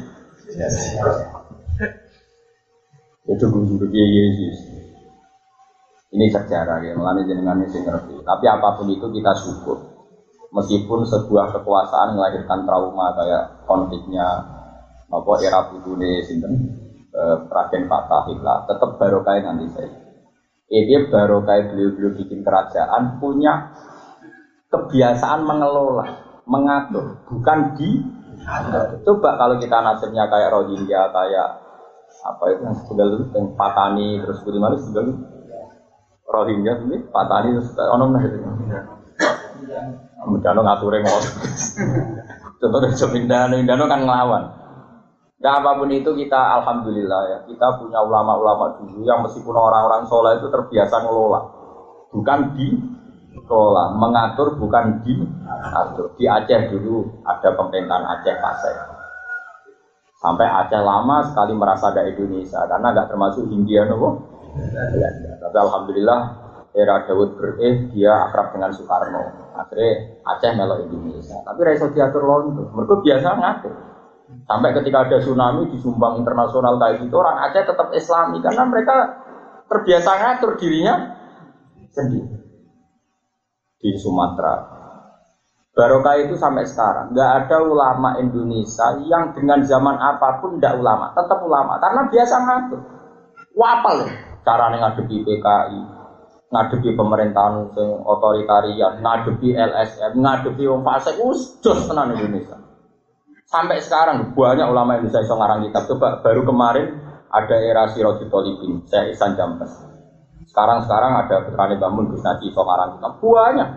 Speaker 1: Itu guru-guru Yesus. Ini sejarah ya, melani jenengan ini ngerti. Tapi apapun itu kita syukur. Meskipun sebuah kekuasaan melahirkan trauma kayak konfliknya, apa era Budune sinten, Raden Fatahillah, tetap barokah nanti saya. Eh, dia baru kayak beliau-beliau bikin kerajaan punya kebiasaan mengelola, mengatur, bukan di. Coba kalau kita nasibnya kayak Rohingya, kayak apa itu yang sudah itu yang Patani terus bagaimana sudah Rohingya ini Patani terus ono nah itu. Mudano ngature ngono. Contohnya Jomindano, Indano kan ngelawan. Nah apapun itu kita alhamdulillah ya kita punya ulama-ulama dulu yang meskipun orang-orang soleh itu terbiasa ngelola, bukan dikelola, mengatur bukan diatur. Di Aceh dulu ada pemerintahan Aceh Pasai, sampai Aceh lama sekali merasa ada Indonesia karena nggak termasuk Hindia nopo. Tapi alhamdulillah era Daud Bereh dia akrab dengan Soekarno, akhirnya Aceh melok Indonesia. Tapi raiso diatur londo, mereka biasa ngatur. Sampai ketika ada tsunami di Sumbang internasional kayak gitu, orang Aceh tetap Islami karena mereka terbiasa ngatur dirinya sendiri. Di Sumatera, barokah itu sampai sekarang nggak ada ulama Indonesia yang dengan zaman apapun tidak ulama, tetap ulama karena biasa ngatur. Wapal cara ngadepi P K I, ngadepi pemerintahan yang otoritarian, ngadepi L S M, ngadepi wong fasik, us jos tenan Indonesia. Sampai sekarang banyak ulama Indonesia yang ngarang kitab. Coba baru kemarin ada era Sirajul Thalibin, saya Ihsan Jambes. Sekarang-sekarang ada putrane Bamun Gus Naji yang ngarang kitab. Banyak.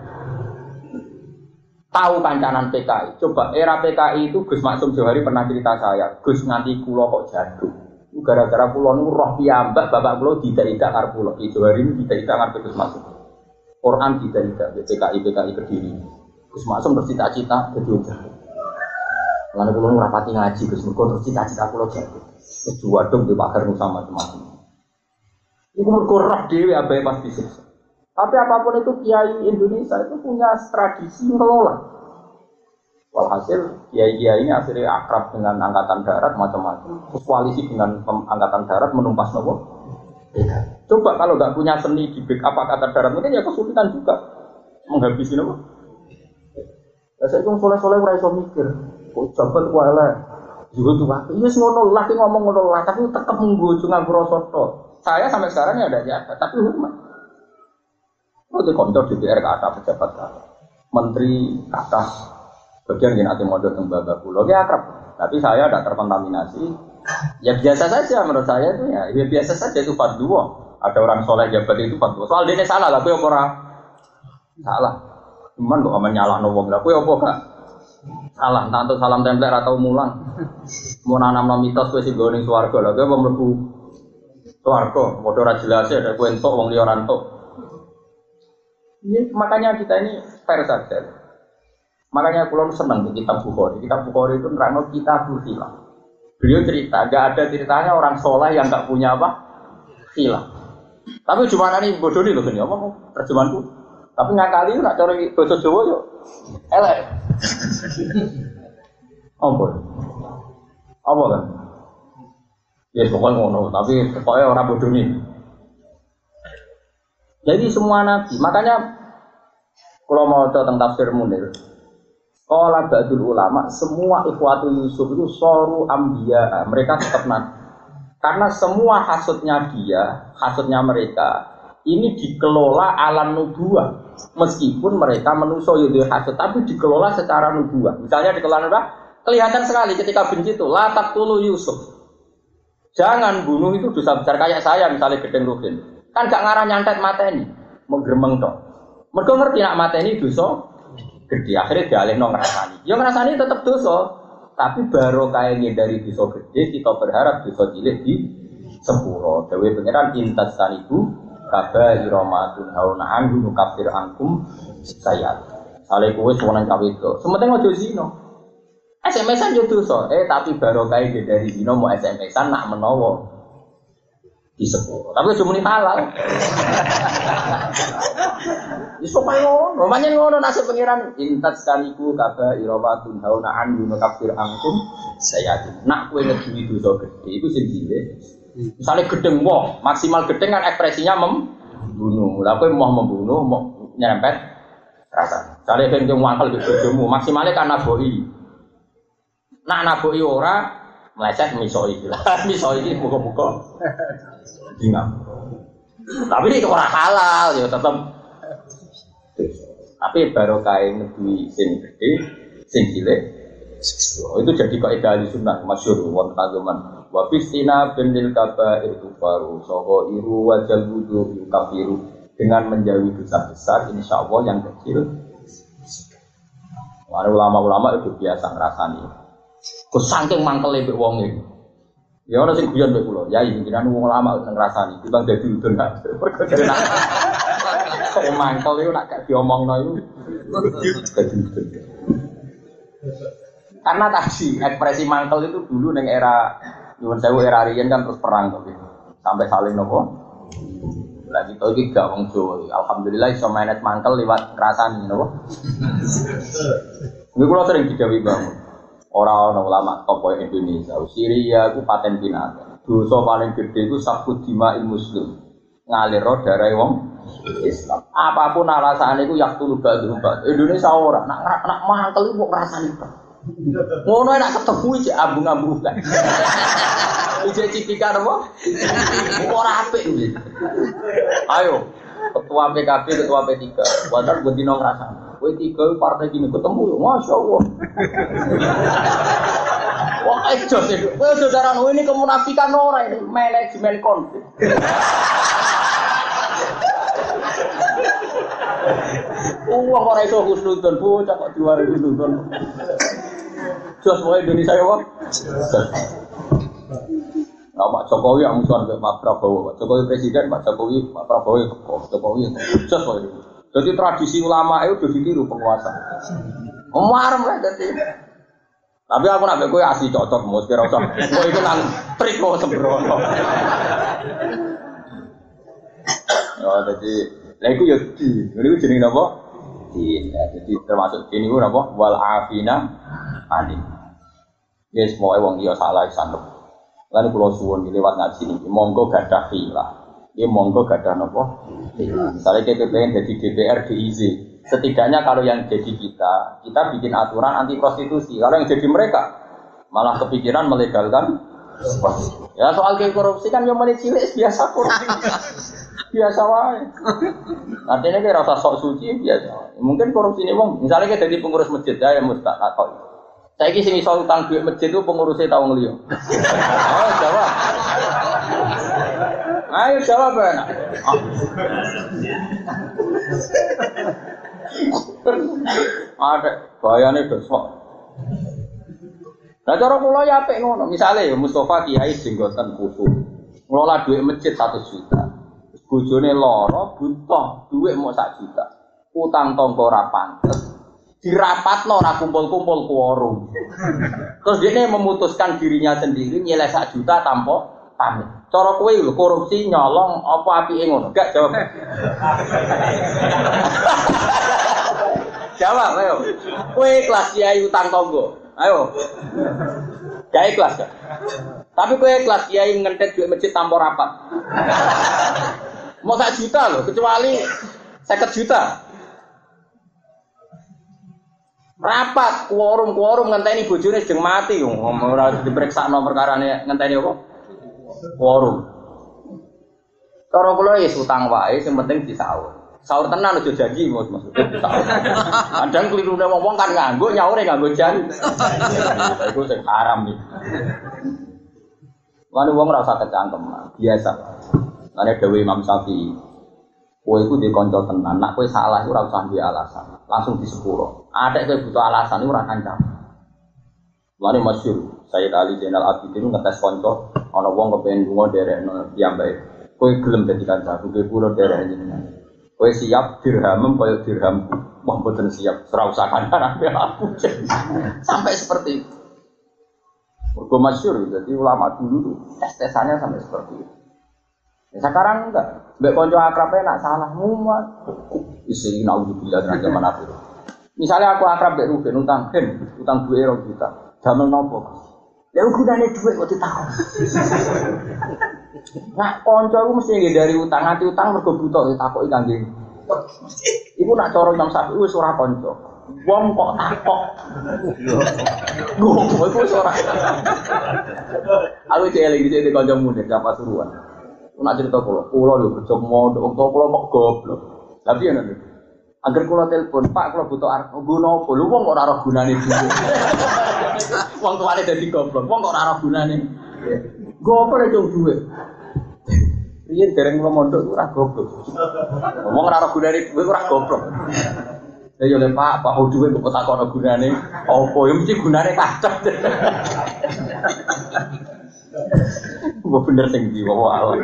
Speaker 1: Tahu kancanan P K I. Coba era P K I itu Gus Maksum Johari pernah cerita saya, Gus nganti kula kok jatuh. Gara-gara kula niku roh piyambak bapak kula tidak-tidak karo kula. Ki Johari niku tidak-tidak karo Gus Maksum. Quran tidak-tidak P K I P K I Kediri. Gus Maksum bercita-cita jadi jago. Lalu kula ngrapati ngaji Gus mergo terus cita-cita kula jago. Kedua dong di pagar sama teman-teman. Iku mergo roh dhewe abahe pas disiksa. Tapi apapun itu kiai Indonesia itu punya tradisi ngelola. Walhasil kiai-kiai ini akhirnya akrab dengan angkatan darat macam-macam. Terus koalisi dengan angkatan darat menumpas nopo. Coba kalau nggak punya seni di backup angkatan darat mungkin ya kesulitan juga menghabisi nopo. Ya saya itu soleh-soleh ora iso mikir. Kok jabat kok elek. Juga tuh waktu iya ngono lah ngomong ngono lah tapi tetep menggojo nganggo rasa tok. Saya sampai sekarang ya ada jabat tapi hormat. Oh, di kantor D P R ke atas pejabat ke atas, menteri ke atas, bagian yang nanti modal tembaga pulau, ya akrab. Tapi saya tidak terkontaminasi. Ya biasa saja menurut saya itu ya, ya biasa saja itu fatwa. Ada orang soleh jabat itu fatwa. Soal dia salah lah, aku orang salah. Cuman kok aman nyalah nobong lah, aku apa gak salah. Entah untuk salam tempel atau mulang. Mau nanam mitos kue si goning suwargo lah, gue mau melebu suwargo. Modal rajilasi ada kue entok, wong liorantok. Ini makanya kita ini fair saja. Makanya pulau senang di kitab Bukhari. Kitab Bukhari itu nerangno kita berkhilaf. Beliau cerita, gak ada ceritanya orang soleh yang gak punya apa khilaf. Tapi cuma ini bodoh nih loh ini apa terjemahanku. Tapi ngakali nak cari bahasa Jawa yo elek. Apa? Apa kan? Ya pokoknya ngono. Tapi pokoknya orang bodoh nih. Jadi semua nabi, makanya kalau mau tentang tafsir Munir, kalau ba'dul ulama, semua ikhwatu Yusuf itu soru ambiya, mereka tetap nabi. Karena semua hasudnya dia, hasudnya mereka, ini dikelola alam nubuah. Meskipun mereka menuso yudhul hasud, tapi dikelola secara nubuah. Misalnya dikelola nubuah, kelihatan sekali ketika benci itu, la taqtulu Yusuf. Jangan bunuh itu dosa besar kayak saya, misalnya Gedeng Rukin. Kan gak ngarah nyantet mateni, menggeremeng tok. Mergo ngerti nak mateni dosa gede, akhirnya dialihno ngrasani. Ya ngrasani tetep dosa, tapi barokah dari dosa gede kita berharap dosa cilik di sepuro. Dewe pangeran intas sanibu kaba iramatun hauna anhu nukafir angkum sayat. Sale kowe sowan cawe itu. Sementing aja zina. S M S-an yo dosa, eh tapi barokah dari zina mau S M S-an nak menawa di sepuluh, tapi cuma ini halal. Iso payo, namanya ngono nasib pangeran. Intat sekaliku kaba iramatun hauna an yunakafir angkum sayatin. Nak kowe ngedui dosa gede itu sing cilik. Misale gedeng wong, maksimal gedeng kan ekspresinya membunuh. Lah kowe mau membunuh, mau nyerempet rasa. Misale ben wong wangkel bojomu, maksimale kan naboi. Nak naboi ora meleset misoi lah. Misoi iki buka-buka. Ingat. Tapi ini orang halal ya tetap. Tapi baru kain negeri sing gede, sing cilik. Itu jadi kaidah sunnah masyhur wonten ageman. Wa fistina binil kaba'ir kufaru saha iru wajal wudu kafiru. Dengan menjauhi dosa besar insyaallah yang kecil. Para ulama-ulama itu biasa ngrasani. Ku saking mangkele mbek wong iki. Ya ana sing guyon mbek kula, yai jenengan wong lama nang ngrasani, timbang dadi udun nak. Perkara jenengan. Kok mangkel iku nak gak diomongno iku. Dadi udun. Karena tadi ekspresi mangkel itu dulu ning era nyuwun sewu era riyen kan terus perang to. Sampai saling nopo. Lah kita iki gak wong Jawa. Alhamdulillah iso manage mangkel liwat ngrasani nopo. Niku kula sering didhawuhi bangun. Orang-orang ulama tokoh Indonesia, Syria itu paten binatang. Dosa paling gede itu sabut dima'il muslim, ngalir darah wong Islam. Apapun alasannya itu yak tulu badu badu. Indonesia orang nak nak mangkel itu mau ngerasani pak. Ngono nak ketemu aja ambung-ambung kan. Ije cipikan apa? Orang apik ini. Ayo, ketua P K B, ketua P tiga. Padahal buat dino ngerasa. P tiga partai gini ketemu, masya Allah. Wah, ejo sih. Wah, saudara ini kemunafikan orang ini manajemen konflik. Uang orang itu husnudon, bocah kok diwari husnudon. Jos mau Indonesia ya, Pak. Nah, Pak Jokowi yang musuhan ke Pak Prabowo, Pak Jokowi presiden, Pak Jokowi, Pak Prabowo, Pak Jokowi, Jos mau itu. Jadi tradisi ulama itu sudah ditiru penguasa. Marem lah jadi. Tapi aku nak kowe asli cocok mos kira usah. Kowe iku nang trik kok sembrono. Oh, jadi lha iku ya di. Niku jenenge napa? Di. Jadi termasuk ini ku napa? Wal afina ani. Yes, moe wong liya salah sanep. Lan kula suwun lewat ngaji niki, monggo gadah khilaf. Iki monggo gadah napa? Misalnya kita pengen jadi D P R D I Z. Setidaknya kalau yang jadi kita, kita bikin aturan anti prostitusi. Kalau yang jadi mereka, malah kepikiran melegalkan. Ya soal korupsi kan yang cilik biasa korupsi, biasa wae. Artinya kayak rasa sok suci biasa. Mungkin korupsi ini bang, misalnya kita jadi pengurus masjid ya, yang mustaq atau saya kisi misal utang duit masjid itu pengurusnya tahu ngeliyo. Oh jawab. Ayo jawab enak. Ada bayane besok. Nah cara kula ya apik ngono. Misale ya Mustofa Kiai jenggoten khusus. Ngelola duit masjid satu juta. Bojone lara butuh duit mau sak juta. Utang tangga ora pantes. Dirapatno ora kumpul-kumpul quorum. Terus dia memutuskan dirinya sendiri nyeleh sak juta tanpa pamit. Cara kowe lho korupsi nyolong apa apike ngono? Gak jawab. Jawab ayo. Kowe kelas kiai utang tangga. Ayo. Gak ikhlas gak? Tapi kowe kelas kiai ngentet duit masjid tanpa rapat. Mau sak juta loh, kecuali seket juta. Rapat quorum-quorum ngenteni bojone sedeng mati yo. Ora dipriksakno perkarane ngenteni apa? Quorum. Cara kula ya utang wae sing penting disaur. Saur tenan aja janji Mas maksudnya disaur. Kadang klirune wong kan nganggo nyaure nganggo jan. Iku sing haram iki. Lan wong ora usah kecangkem, biasa. Lan dawuh Imam Syafi'i, kowe iku di kanca tenan, nek kowe salah iku ora usah duwe alasan, langsung disepuro. Adek kowe butuh alasan iku ora kancam. Lan masyhur Sayyid Ali Zainal Abidin ngetes kanca ana wong kepengin lunga derekno piyambake. Kowe gelem dadi kancaku, kowe kula derek jenengan. Kowe siap dirhamem kaya dirhamku. Wong mboten siap, ora usah kandhane aku. Sampai seperti itu. Mergo masyhur jadi ulama dulu tuh tes-tesannya sampai seperti itu. Ya sekarang enggak. Mbek kanca akrabe nak salah mumat. Isi naudzubillah dari zaman akhir. Misalnya aku akrab mbek Ruben utang ben, utang duwe rong juta. Damel nopo? Ya gunane dhuwit kok ditakon. Nah, kanca iku mesti ngindari utang, nganti utang mergo butuh ditakoki kangge. Iku nak cara Imam Syafi'i wis ora kanca. Wong kok takok. Gowo iku wis ora. Aku celing iki di kanca muda siapa suruhan. Ku nak cerita kula, kula lho kerja mondok, wong kula kok goblok. Tapi ya nanti. Agar kula telepon, Pak kula butuh arep guna apa? Lho wong kok ora ora gunane dhuwit. Wong tuane dadi goblok, wong kok ora ora gunane. Gopo lek cung dhuwit. Riyen dereng kula mondok ora goblok. Wong ora ora gunane dhuwit ora goblok. Ya yo le Pak, Pak dhuwit kok takono gunane apa? Ya mesti gunane kacau. Gua bener sing ndi wae Allah.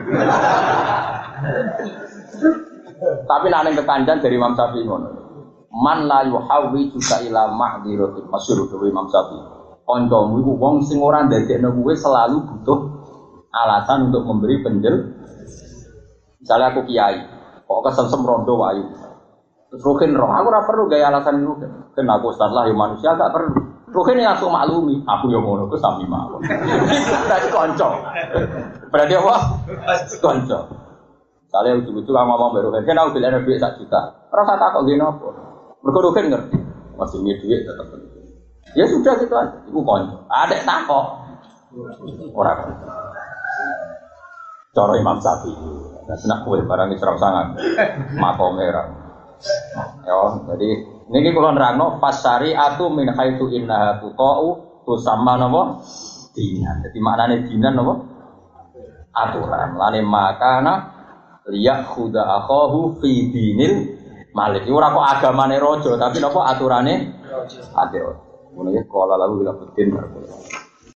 Speaker 1: Tapi nek ning kekandhan dari Imam Syafi'i ngono. Man la yuhawi juga ila ma'dhiratin masyhur dari Imam Syafi'i. Kancamu iku wong sing ora ndadekno kowe selalu butuh alasan untuk memberi penjel. Misalnya aku kiai, kok kesem-sem rondo wayu. Terus Ruhin roh, aku ora perlu gaya alasan Ruhin. Kan aku ustaz lah ya manusia gak perlu. Ruhin langsung maklumi, aku yo ngono ku sami mawon. Berarti kanca. Berarti apa? Kanca. Misalnya ujug-ujug aku ngomong mbek Ruhin, kan aku bilane duit sak juta. Ora usah takok ngene apa. Mergo Ruhin ngerti, masih punya duit tetep penting. Ya sudah gitu aja, iku kanca. Adek takok. Ora. Cara Imam Syafi'i. Nah, senak kowe barang iki serang sangat. Makome ra. Ya, jadi niki kula nerangno pas syariatu min haitsu innaha tuqa'u tusamma napa? Dinan. Dadi maknane dinan napa? Aturan. Lane makana liyakhudha akhahu fi dinil malik. Ora kok agamane raja, tapi napa aturane raja. Ati raja. Ngono ya kala lalu bila bedin.